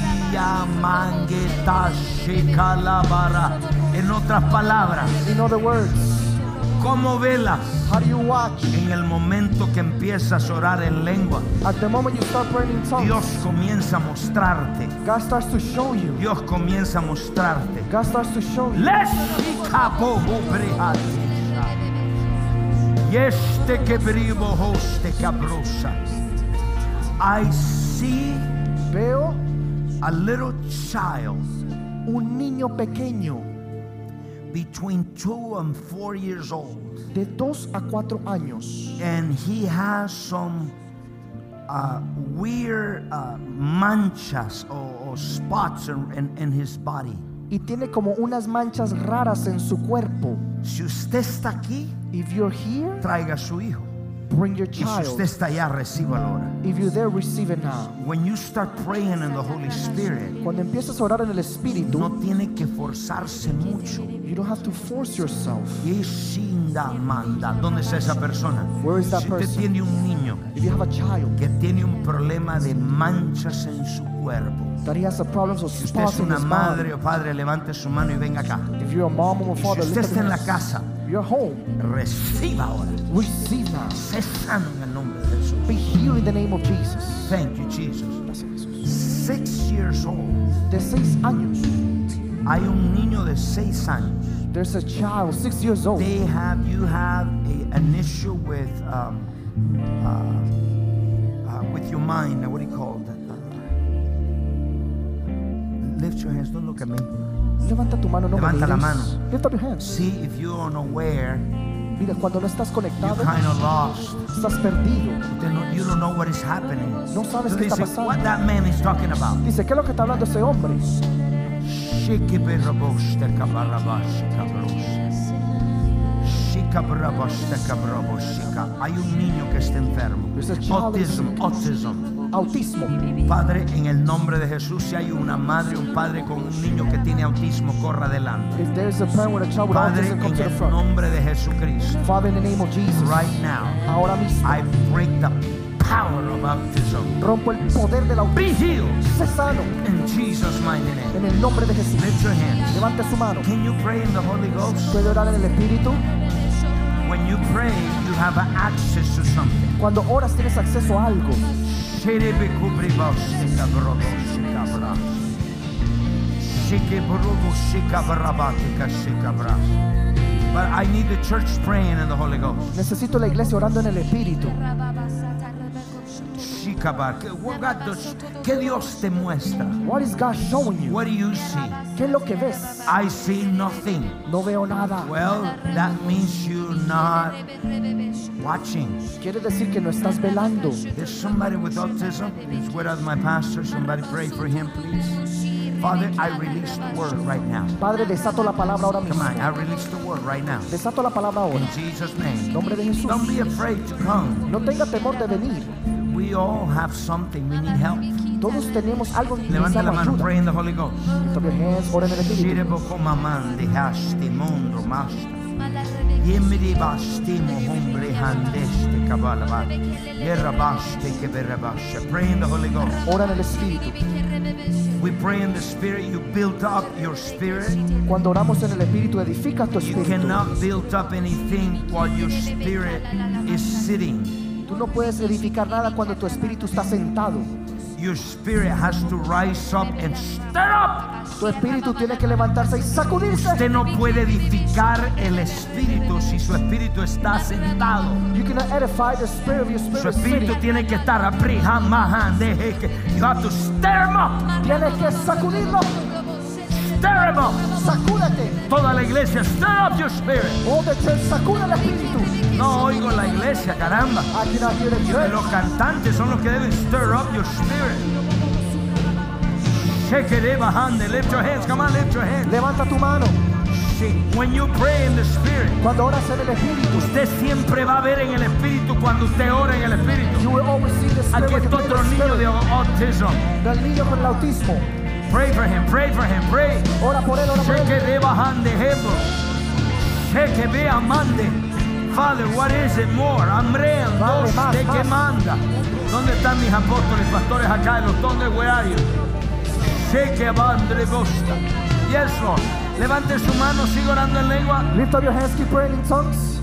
En otras palabras, In other words, ¿cómo velas? how do you watch? En el momento que empiezas a orar en lengua, At the moment you start praying in tongues, Dios comienza a mostrarte. God starts to show you. Dios comienza a mostrarte. God starts to show you. I see Veo a little child un niño pequeño between 2 and 4 years old, de 2 a 4 años. and he has some weird manchas or spots in his body. Y tiene como unas manchas raras en su cuerpo. Si usted está aquí, If you're here, traiga a su hijo. bring your Y si usted child. está allá, recíbalo ahora. If you're there, receive it now. When you start praying in the Holy Spirit, Cuando empiezas a orar en el Espíritu, no tiene que forzarse mucho. you don't have to force yourself. Yeshinda manda. ¿Dónde está esa persona? Where is that Si usted person? tiene un niño If you have a child que tiene un problema de manchas en su cuerpo, that he has a problem of si usted es spots in una his madre body, o padre, levante su mano y venga acá. if you're a mom or a Si father, usted lift up está en your la hands. casa, You're home. reciba ahora. Receive now. Sé sano en el nombre de Jesús. Be healed in the name of Jesus. Thank you, Jesus. Gracias, Jesús. 6 years old. De 6 años. Hay un niño de 6 años. There's a child, 6 years old. You have an issue with your mind. What do you call that? Lift your hands. Don't look at me. Levanta tu mano, no me Levanta la mires. mano. Lift up your hands. See if you're unaware Mira, cuando no estás conectado, you're kind of lost. Estás perdido. You don't know what is happening. No sabes qué está pasando. What that man is talking about. Dice, ¿qué es lo que está hablando ese hombre? Hay un niño que está enfermo. Autismo. Padre, en el nombre de Jesús, si hay una madre, un padre con un niño que tiene autismo, corra adelante. Padre, en el nombre de Jesucristo. Father, in the name of Jesus. Right now, ahora mismo, I break the power of autism. Rompo el poder del autismo. Be healed. Sé sano. In Jesus' mighty name. En el nombre de Jesús. Lift your hands. Levante su mano. Can you pray in the Holy Ghost? ¿Puede orar en el Espíritu? When you pray, you have access to something. Cuando oras tienes acceso a algo. But I need the church praying in the Holy Ghost. Necesito la iglesia orando en el Espíritu. ¿Qué Dios te muestra? What is God showing you? What do you see? ¿Qué es lo que ves? I see nothing. No veo nada. Well, that means you're not watching. Quiere decir que no estás velando. There's somebody with autism. He's with us, my pastor. Somebody pray for him, please. Father, I release the word right now. Padre, desato la palabra ahora mismo. Come on, I release the word right now. Desato la palabra ahora. In Jesus' name. En nombre de Jesús. Don't be afraid to come. No tenga temor de venir. We all have something. We need help. Todos tenemos algo que Levanta la mano, ayuda. pray in the Holy Ghost. Lift up your hands, ora en el Espíritu. Pray in the Holy Ghost. Ora en el Espíritu. We pray in the Spirit. You build up your spirit. Cuando oramos en el Espíritu, edifica tu You espíritu. cannot build up anything while your spirit is sitting. Tú no puedes edificar nada cuando tu espíritu está sentado. Your spirit has to rise up and stir up. Tu espíritu tiene que levantarse y sacudirse. Usted no puede edificar el espíritu si su espíritu está sentado. You cannot edify the spirit of your spirit. Su espíritu tiene que estar you have to stir him up. Tienes que sacudirlo. Stir him up. Sacúdete. Toda la iglesia, stir up your spirit. All the church, sacude el espíritu. No oigo la iglesia, caramba. I cannot hear the church. Los cantantes son los que deben stir up your spirit. Lift your hands, come on, lift your hands. Levanta tu mano. When you pray in the Spirit, cuando oras en el Espíritu, usted siempre va a ver en el Espíritu cuando usted ora en el Espíritu. You will always see the Spirit. Aquí está otro niño de autism. Del niño con el autismo. Pray for him, pray for him, pray. Ora por él, ora por él. Father, what is it more? Amrean, dos, de que manda. ¿Dónde están mis apóstoles, pastores acá? Los donde where are you? Sheke bandre bosta. Yes, Lord. Levante su mano, siga orando en lengua. Lift up your hands, keep praying in tongues.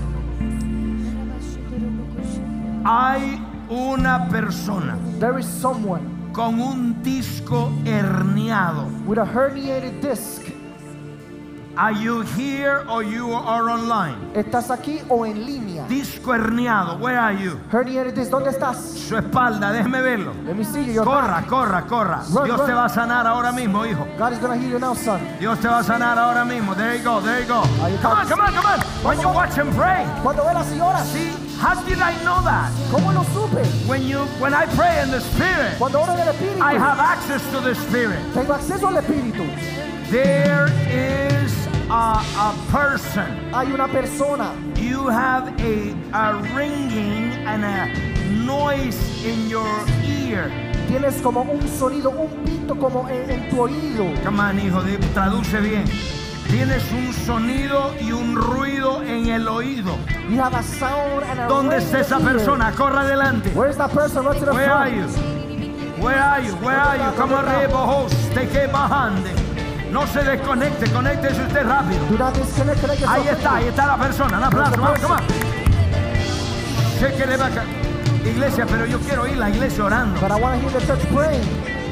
Hay una persona. There is someone con un disco herniado. With a herniated disc. Are you here or you are online? ¿Estás aquí o en línea? Disco herniado, where are you? Herniated disc, ¿dónde estás? Su espalda, déjeme verlo. Let me see you. Corra, corra, corra. Run, Dios run. te va a sanar ahora mismo, hijo. God is going to heal you now, son. Dios te va a sanar ahora mismo. There you go, there you go. Come on, come on, come on. When you watch him pray. Cuando velas y oras. See, how did I know that? ¿Cómo lo supe? When I pray in the Spirit, cuando oro en el Espíritu, I have access to the Spirit. Tengo acceso al Espíritu. There is a person. Hay una persona. You have a ringing and a noise in your ear. Tienes como un sonido, un pito como en tu oído. Come on, hijo, traduce bien. Tienes un sonido y un ruido en el oído. You have a sound and a ¿Dónde está esa persona? Corra adelante. Where is that person? What's in the Where front? are you? Where are you? Where are you? Come on, te que bajande. No se desconecte, conéctese usted rápido. Ahí está la persona. Un aplauso, vamos, come on. Iglesia, pero yo quiero oír la iglesia orando. But I want to hear the church praying.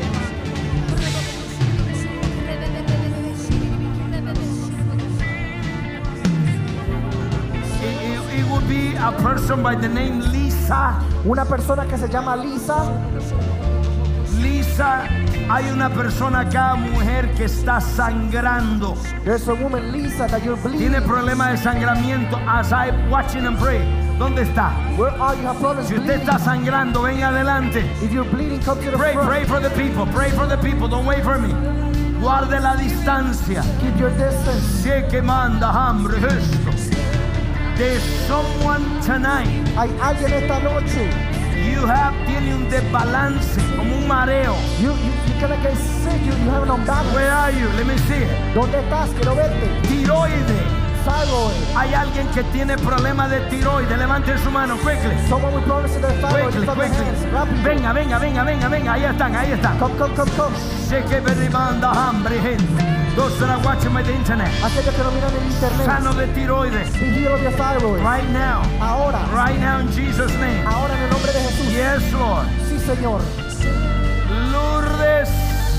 It would be a person by the name Lisa. Una persona que se llama Lisa. Lisa Lisa, hay una persona acá, mujer, que está sangrando. There's a woman, Lisa, that you're bleeding. Tiene problemas de sangramiento. As I watching and pray. ¿Dónde está? Where are you? Have problems Si usted está sangrando, venga adelante. If you're bleeding, come to the Pray, front. pray for the people. Pray for the people. Don't wait for me. Guarde la distancia. Keep your distance. Sé que manda hambre esto. There's someone tonight. Hay alguien esta noche. Tiene un desbalance, como un mareo. You're gonna get sick. You have an unbalance. Where are you? Let me see it. ¿Dónde estás? Quiero verte. Tiroide. Thyroid. Hay alguien que tiene problemas de tiroide. Levante su mano, quickly. Someone with problems in their thyroid. Quickly, quickly. Venga, venga, venga, venga, venga. Ahí están, ahí están. Come. Sé que me demanda hambre, gente. Those that are watching by the internet. Aquellos que no miran en internet. Sano de tiroide. Be healed of your thyroid. Right now. Ahora. Right now in Jesus' name. Ahora en el nombre de Jesús. Yes, Lord. Sí, Señor. Lourdes.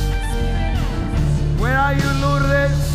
Where are you, Lourdes?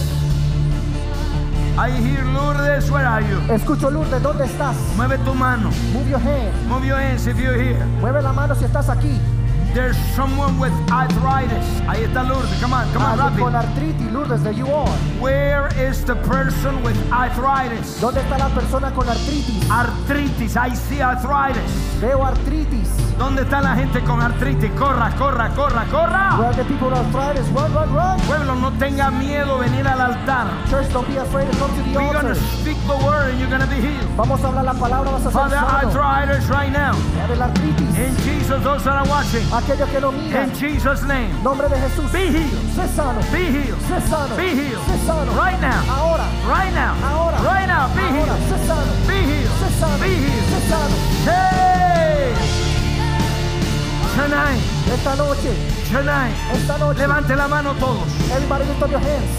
I hear Lourdes. Where are you? Escucho, Lourdes, ¿dónde estás? Mueve tu mano. Move your hand. Move your hands if you're here. Mueve la mano si estás aquí. There's someone with arthritis. Ahí está Lourdes. Come on, rápido. Con artritis, Lourdes, there you are. Where is the person with arthritis? ¿Dónde está la persona con artritis? Artritis. I see arthritis. Veo artritis. ¿Dónde está la gente con artritis? Corra. Where are the people with arthritis? Run. Pueblo, no tenga miedo venir al altar. Church, don't be afraid to come to the We're altar. going to speak the word and you're going to be healed. Vamos a hablar la palabra, vas a ser Father, sano. arthritis right now. Padre, la artritis. In Jesus, those that are watching. Aquellos que no miran. In Jesus' name. Nombre de Jesús. Be healed. Sé sano. Be healed. Sé sano. Be healed. Sé sano. Right now. Ahora. Right now. Ahora. Right now. Be Ahora. healed. Sé sano. Be healed. Sé sano. Be healed. Sé sano. Hey! Tonight. Esta noche. Levante la mano todos. Everybody lift up your hands.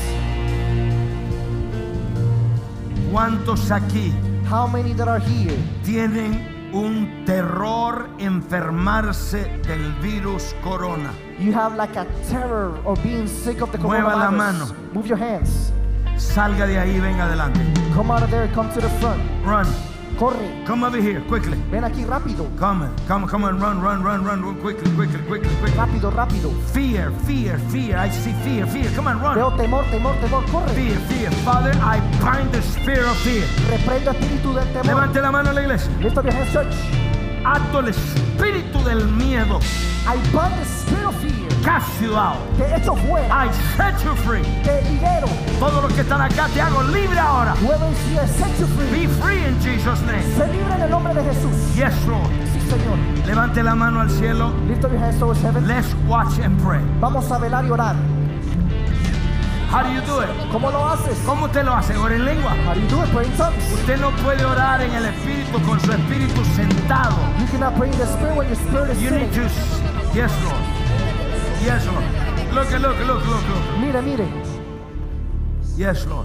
¿Cuántos aquí How many that are here tienen un terror enfermarse del virus corona? you have like a terror of being sick of the Mueva la coronavirus? mano. Move your hands. Salga de ahí, venga adelante. Come out of there, come to the front. Run. Corre. Come over here, quickly. Ven aquí rápido. Come on, run, quickly. Rápido. Fear. I see fear. Come on, run. Veo temor. Corre. Fear. Father, I bind the spirit of fear. Reprendo espíritu del temor. Levante la mano a la iglesia. Lift up your hands, church. Ato el espíritu del miedo. I bind the spirit of fear. Cast you out. Te echo fuera. I set you free. Te libero. Todos los que están acá te hago libre ahora. Whoever is here, set you free. Be free in Jesus' name. Se libre en el nombre de Jesús. Yes, Lord. Sí, Señor. Levante la mano al cielo. Lift up your hands towards heaven. Let's watch and pray. Vamos a velar y orar. How do you do it? ¿Cómo lo haces? ¿Cómo usted lo hace? Ora en lengua. How do you do it? Pray in tongues. Usted no puede orar en el espíritu con su espíritu sentado. You cannot pray in the spirit when your spirit is You need sitting. to. Yes, Lord. Yes, Lord. Look. Mire. Yes, Lord.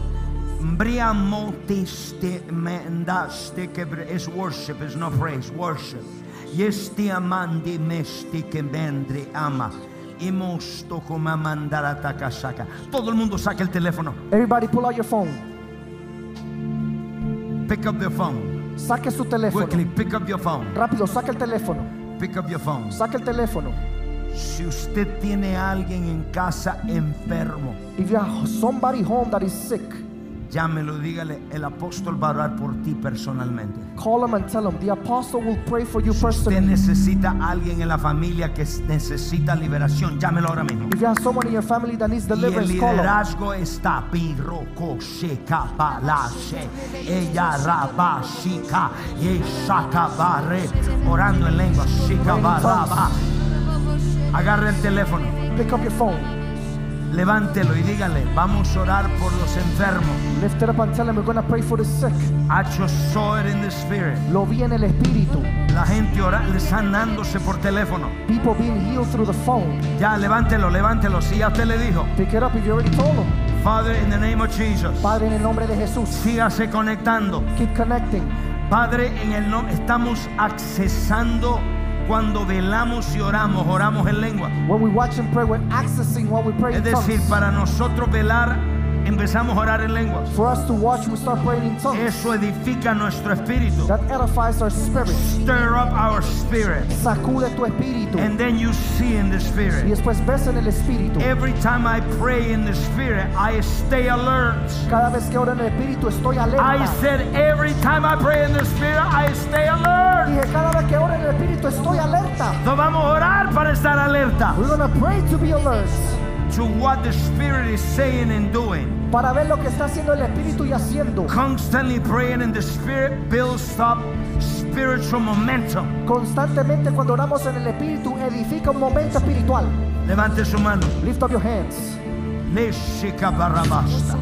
It's worship, it's not praise. Worship. Yes, te amandi mesti que mendre ama. Todo el mundo saca el teléfono. Everybody pull out your phone. Pick up your phone. Saque su teléfono. Quickly, pick up your phone. Rápido, saque el teléfono. Pick up your phone. Saque el teléfono. Si usted tiene a alguien en casa enfermo, If you have somebody home that is sick, llámelo, dígale, el apóstol va a orar por ti personalmente. call him and tell him the apostle will pray for you Si usted personally. necesita a alguien en la familia que necesita liberación, llámelo ahora mismo. If you have someone in your family that needs Y el deliverance, call him. liderazgo está pirroco sheka balashe ella raba shika y shaka barre orando en lengua shika baraba. Agarre el teléfono, Pick up your phone. levántelo y dígale, vamos a orar por los enfermos. Lift it up and tell him we're going to pray for the sick. I just saw it in the spirit. Lo vi en el espíritu. La gente sanándose por teléfono. People being healed through the phone. Ya, levántelo. Si ya usted le dijo. Pick it up if you already told him. Father, in the name of Jesus. Padre, en el nombre de Jesús. Sígase conectando. Keep connecting. Padre, en el nombre estamos accesando cuando velamos y oramos en lengua. When we watch and pray, we're accessing what we pray Es in tongues. decir, para nosotros velar empezamos a orar en lenguas. For us to watch, we start praying in tongues. Eso edifica nuestro espíritu. That edifies our spirit. Stir up our spirit. Sacude tu espíritu. And then you see in the Y spirit. después ves en el espíritu. Every time I pray in the spirit, I stay alert. Cada vez que oro en el espíritu estoy alerta. I said every time I pray in the spirit, I stay alert. Dije, cada vez que oro en el espíritu estoy alerta. No vamos a orar para estar alerta. We're gonna pray to be alert. To what the spirit is saying and doing. Para ver lo que está haciendo el espíritu y haciendo. Constantly praying in the spirit builds up spiritual momentum. Constantemente cuando oramos en el espíritu edifica un momento espiritual. Levante su mano. Lift up your hands. Neshika barabasta.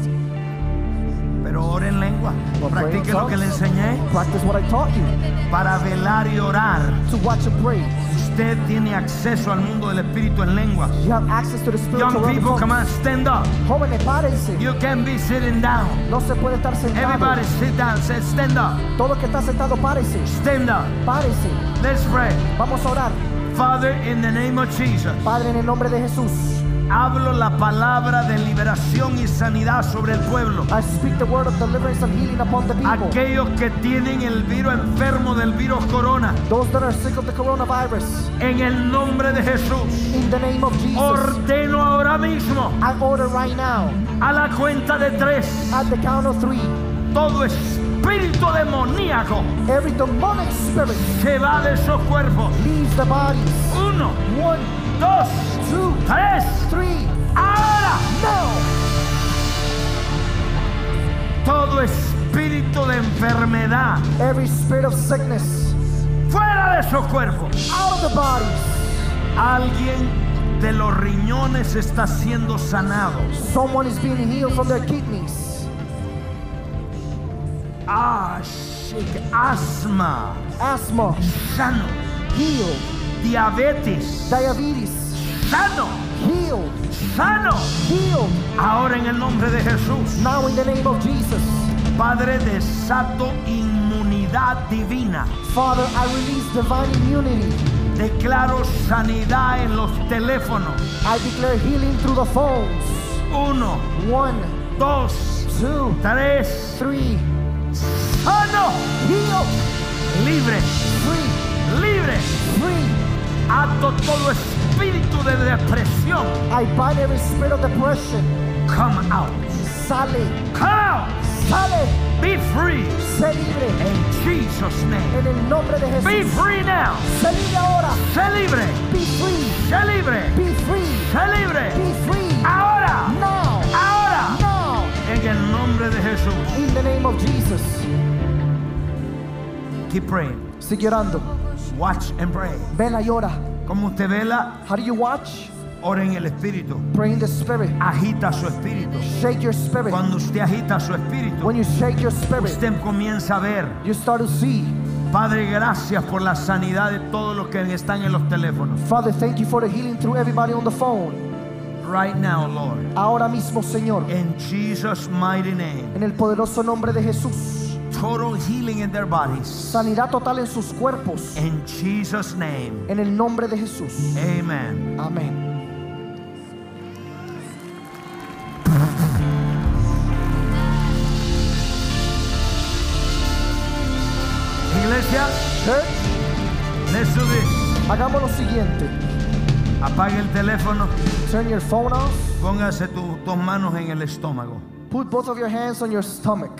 Pero ore en lengua. Practique lo que le enseñé. Practice what I taught you. Para velar y orar. To watch and pray. Usted tiene acceso al mundo del espíritu en lenguas. You have access to the spiritual Young people, realm. come on, stand up. Jóvenes, párense. You can be sitting down. No se puede estar sentado. Everybody sit down. Say, stand up. Todo que está sentado, párese. Stand up. Párese. Let's pray. Vamos a orar. Father, in the name of Jesus. Padre, en el nombre de Jesús. Hablo la palabra de liberación y sanidad sobre el pueblo. I speak the word of deliverance and healing upon the people. Aquellos que tienen el virus enfermo del virus corona. Those that are sick of the coronavirus. En el nombre de Jesús. In the name of Jesus. Ordeno ahora mismo. I order right now. A la cuenta de 3. At the count of 3. Todo espíritu demoníaco. Every demonic spirit. Se va de esos cuerpos. Leaves the bodies. 1, 1, 2, 2, 3. 3. Ahora. Now. Todo espíritu de enfermedad. Every spirit of sickness. Fuera de esos cuerpos. Out of the bodies. Alguien de los riñones está siendo sanado. Someone is being healed from their kidneys. Asma. Asthma. Sano. Healed. Diabetes. Diabetes. Sano. Healed. Sano. Healed. Ahora en el nombre de Jesús. Now in the name of Jesus. Padre, desato inmunidad divina. Father, I release divine immunity. Declaro sanidad en los teléfonos. I declare healing through the phones. 1, 1, 2, 2, 3. 3. Sano. Healed. Libre. Free. Libre. Free. Ato todo espíritu de depresión. I bind every spirit of depression. Come out. Sale. Come out. Sale. Be free. Sé libre. In Jesus' name. En el nombre de Jesús. Be free now. Sé libre ahora. Sé libre. Be free. Sé libre. Be free. Sé libre. Be free. Ahora. Now. Ahora. Now. En el nombre de Jesús. In the name of Jesus. Keep praying. Sigue orando. Watch and pray. Vela y ora. Como usted vela, How do you watch? ora en el espíritu. Pray in the spirit. Agita su espíritu. Shake your spirit. Cuando usted agita su espíritu, When you shake your spirit, usted comienza a ver. you start to see. Padre, gracias por la sanidad de todos los que están en los teléfonos. Father, thank you for the healing through everybody on the phone. Right now, Lord. Ahora mismo, Señor. In Jesus' mighty name. En el poderoso nombre de Jesús. Total healing in their bodies. Sanidad total en sus cuerpos. In Jesus' name. En el nombre de Jesús. Amen. Amén. Iglesia, Church, let's do this. hagamos lo siguiente. Apague el teléfono. Turn your phone off. Póngase tus manos en el estómago. Put both of your hands on your stomach.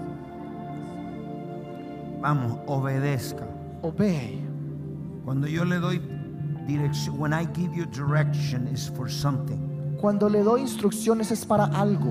Vamos, obedezca. Obey. Cuando yo le doy dirección, when I give you direction, is for something. Cuando le doy instrucciones es para algo.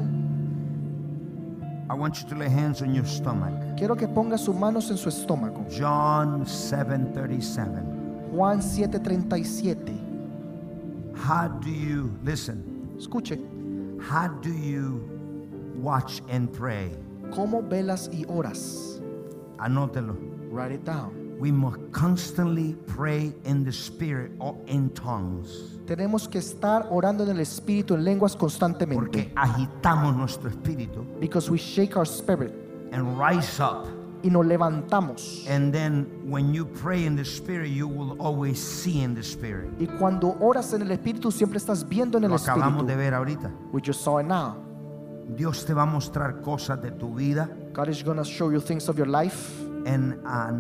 I want you to lay hands on your stomach. Quiero que ponga sus manos en su estómago. John 7:37. Juan 7:37. How do you, listen, Escuche. how do you watch and pray? ¿Cómo velas y oras? Anótelo. Write it down. We must constantly pray in the spirit or in tongues. Tenemos que estar orando en el espíritu en lenguas constantemente. Porque agitamos nuestro espíritu Because we shake our spirit. and rise up. Y nos levantamos. And then when you pray in the spirit, you will always see in the spirit. Y cuando oras en el espíritu siempre estás viendo en el Lo acabamos espíritu. de ver ahorita. We just saw it now. Dios te va a mostrar cosas de tu vida. God is going to show you things of your life. En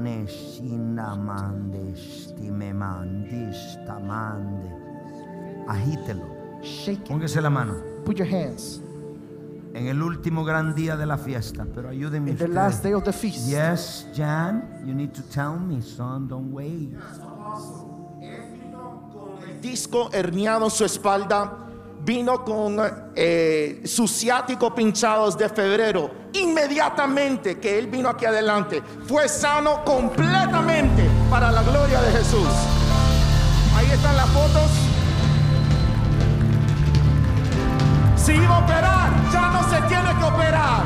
agítelo. Shake it. Póngase la mano. Put your hands. En el último gran día de la fiesta, pero ayúdeme In the last day of the feast. Yes, Jan, you need to tell me, son, don't wait. El disco herniado en su espalda, vino con su ciático pinchados de febrero. Inmediatamente que él vino aquí adelante, fue sano completamente para la gloria de Jesús. Ahí están las fotos. Si iba a operar, ya no se tiene que operar.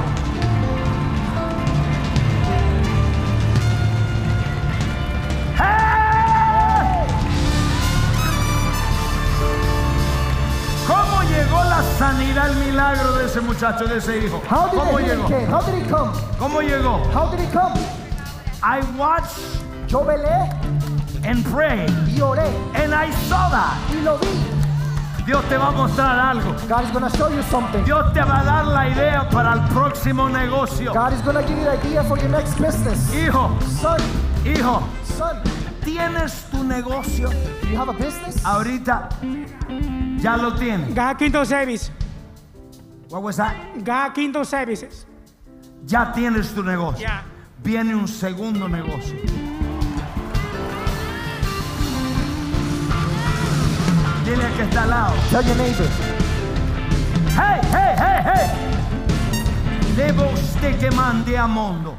¿Cómo llegó la sanidad, el milagro de ese muchacho, de ese hijo? ¿Cómo llegó? How did he come? ¿Cómo llegó? How did he come? I watched Yo velé and prayed y oré and I saw that. y lo vi. Dios te va a mostrar algo. God is going to show you something. Dios te va a dar la idea para el próximo negocio. God is going to give you the idea for your next business. Hijo, Son, hijo, son, ¿tienes tu negocio? do you have a business? Ahorita ya lo tienes. God Kingdom Service. What was that? God Kingdom Services. Ya tienes tu negocio. Yeah. Viene un segundo negocio. Dile al que está al lado. Tell your neighbor. Hey, hey, hey, hey. Debo usted que mande a mundo.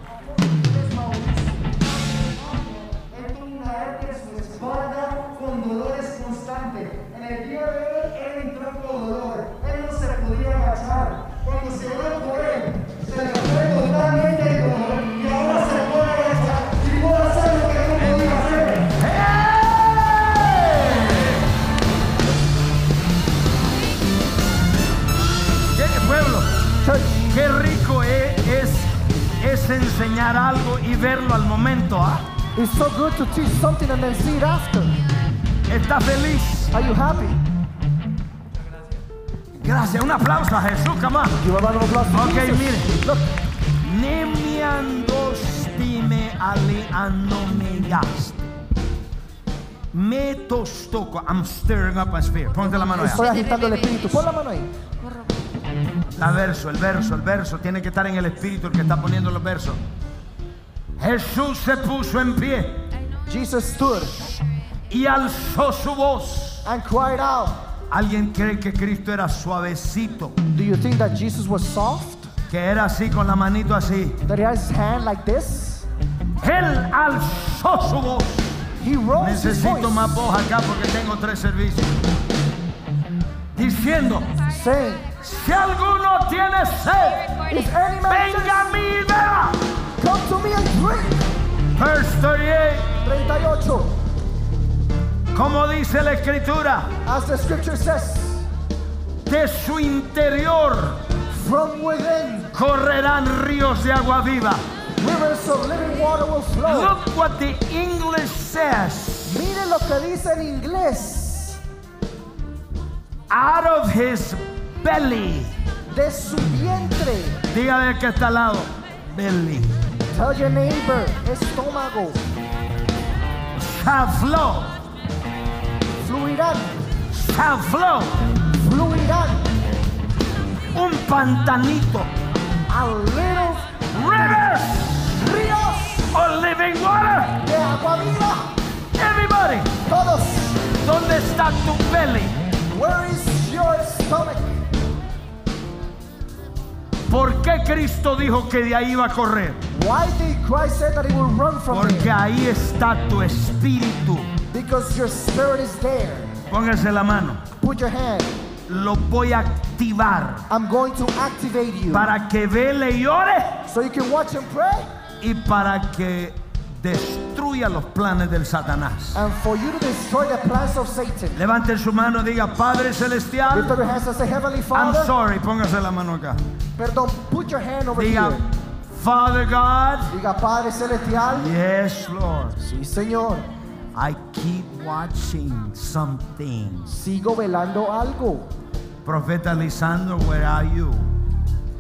Él tuvo una hernia en su espalda con dolores constantes. En el día de hoy, él entró con dolor. Él no se podía agachar. Cuando se oró por él, se le fue totalmente el dolor. Y ahora se puede agachar. Y puede hacer lo que no podía hacer. ¿Qué pueblo? Qué rico es enseñar algo y verlo al momento, ¿ah? It's so good to teach something and then see it after. ¿Estás feliz? Are you happy? Gracias, un aplauso a Jesús, come on. Give a round of applause to Ok, Jesus. mire. Look. Nemiandostime aleanomeyaste. Me tostoco. I'm stirring up my spirit. Ponte la mano Estoy allá. agitando el espíritu. Pon la mano ahí. El verso. Tiene que estar en el espíritu el que está poniendo los versos. Jesús se puso en pie Jesus stood y alzó su voz. and cried out. ¿Alguien cree que Cristo era suavecito? Do you think that Jesus was soft? Que era así con la manito así. That he has his hand like this? Él alzó su voz. He rose his Necesito voice, más voz acá porque tengo 3 servicios. Diciendo, saying, si alguno tiene sed, if any man venga a mí y beba. thirsts, come to me and drink. Verse 38. 38. Como dice la escritura, As the scripture says, de su interior from within, correrán ríos de agua viva. rivers of living water will flow. Look what the English says. Mire lo que dice en inglés. Out of his belly. De su vientre. Dígale que está al lado. Belly. Tell your neighbor, estómago. Shall flow. Fluirán. Shall flow. Fluirán. Un pantanito. A little Rivers ríos of living water. de agua viva. Everybody. Todos. ¿Dónde está tu belly? Where is your stomach? ¿Por qué Cristo dijo que de ahí iba a correr? Why did Christ say that he will run from Porque there? ahí está tu espíritu. Because your spirit is there. Póngase la mano. Put your hand. Lo voy a activar I'm going to activate you. para que vele y ore So you can watch and pray. y para que destruya los planes del Satanás. And for you to destroy the plans of Satan. Levante su mano, diga Padre Lift Celestial. up your hands and say, Heavenly I'm Father. sorry, póngase la mano acá. Perdón, put your hand over Diga here. Father God. Diga Padre Celestial. Yes, Lord. Sí, Señor. I keep watching something. Sigo velando algo. Profeta Lisandro, where are you?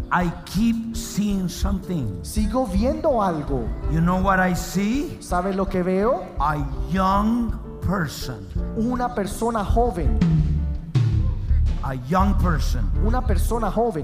I keep seeing something. Sigo viendo algo. You know what I see? ¿Sabes lo que veo? A young person. Una persona joven. A young person. Una persona joven.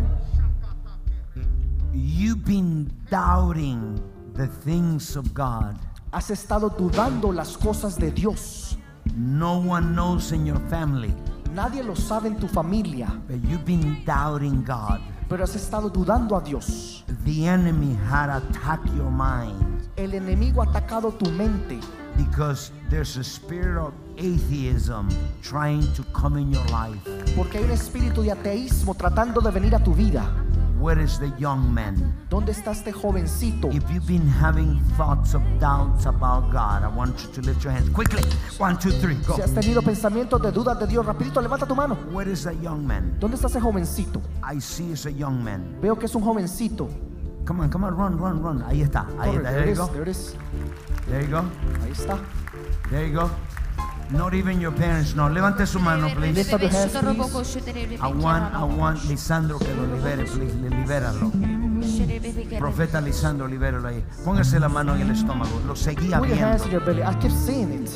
You've been doubting the things of God. Has estado dudando las cosas de Dios. No one knows in your family. Nadie lo sabe en tu familia. But you've been doubting God. Pero has estado dudando a Dios. The enemy had attacked your mind. El enemigo ha atacado tu mente. Because there's a spirit of atheism trying to come in your life. Porque hay un espíritu de ateísmo tratando de venir a tu vida. Where is the young man? ¿Dónde está este jovencito? If you've been having thoughts of doubts about God, I want you to lift your hands quickly. 1, 2, 3, go. Si has tenido pensamientos de dudas de Dios, rapidito levanta tu mano. Where is that young man? ¿Dónde está ese jovencito? I see it's a young man. Veo que es un jovencito. Come on, run. Ahí está. Ahí está. There you go. There you go. Ahí está. There you go. Not even your parents know. Levante su mano, please. Lift up your hands, please. I want Lisandro que lo libere, please. Libéralo. Profeta Lisandro, libéralo ahí. Póngase la mano en el estómago. Lo seguía Put your hands in viendo. your belly. I keep seeing it.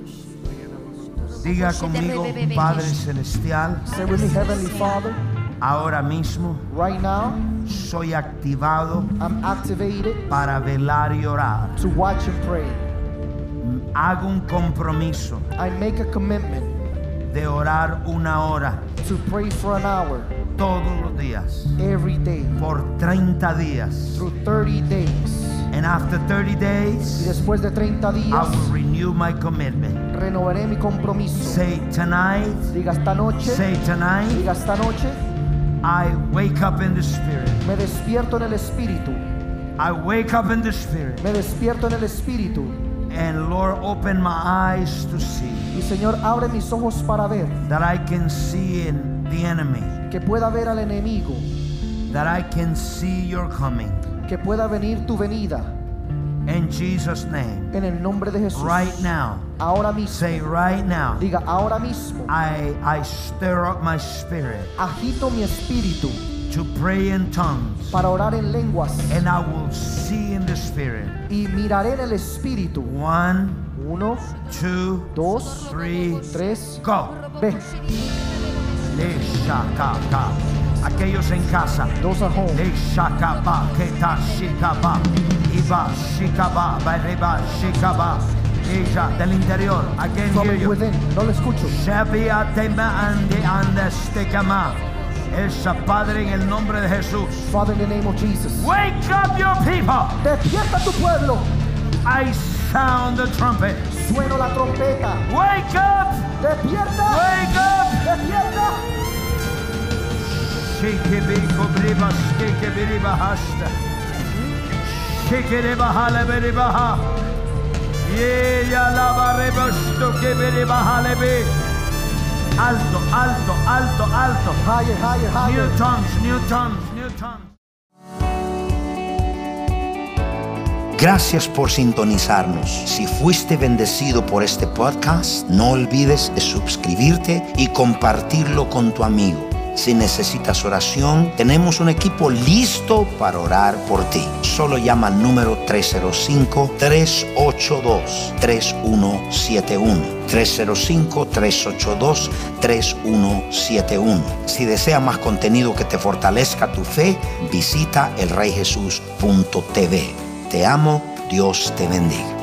Diga conmigo, Padre Celestial. Say with me, Heavenly Father. Ahora mismo Right now, soy activado I'm activated para velar y orar. to watch and pray. Hago un compromiso I make a commitment de orar 1 hora to pray for an hour todos los días every day por 30 días. through 30 days. And after 30 Y days, después de 30 I días, will renew my commitment. renovaré mi compromiso. Say tonight, Diga esta noche, say tonight, diga esta noche, I wake up in the Spirit. me despierto en el Espíritu. I wake up in the Spirit. Me despierto en el Espíritu. And Lord, open my eyes to see Y Señor, abre mis ojos para ver, that I can see in the enemy, que pueda ver al enemigo, that I can see your coming. que pueda venir tu venida. In Jesus' name, En el nombre de Jesús. right now, Ahora mismo. say right now, Diga ahora mismo. I stir up my spirit Agito mi espíritu to pray in tongues, para orar en lenguas. and I will see in the Spirit. Y miraré en el espíritu. 1, 1, 2, 2, 3, 3. go. Ve. Leshakaka. Aquellos en casa. Those at home. Leshakaba, keta shikaba, iba shikaba, bareba shikaba. Ella del interior. I can From hear you. within. No lo escucho. Shabia tema ande andestekama. Esa Padre en el nombre de Jesús. Father, in the name of Jesus. Wake up your people. Despierta tu pueblo. I sound the trumpet. Sueno la trompeta. Wake up. Despierta. Wake up. Despierta. Shikibiko briba skikibiriba hasta. Shikiriba halebiriba ha. Ye ya lava rebosto kibiriba halebe. Alto, alto, alto, alto. Higher, higher, higher. New tongues, new tongues, new tongues. Gracias por sintonizarnos. Si fuiste bendecido por este podcast, no olvides de suscribirte y compartirlo con tu amigo. Si necesitas oración, tenemos un equipo listo para orar por ti. Solo llama al número 305-382-3171. 305-382-3171. Si desea más contenido que te fortalezca tu fe, visita elreyjesus.tv. Te amo, Dios te bendiga.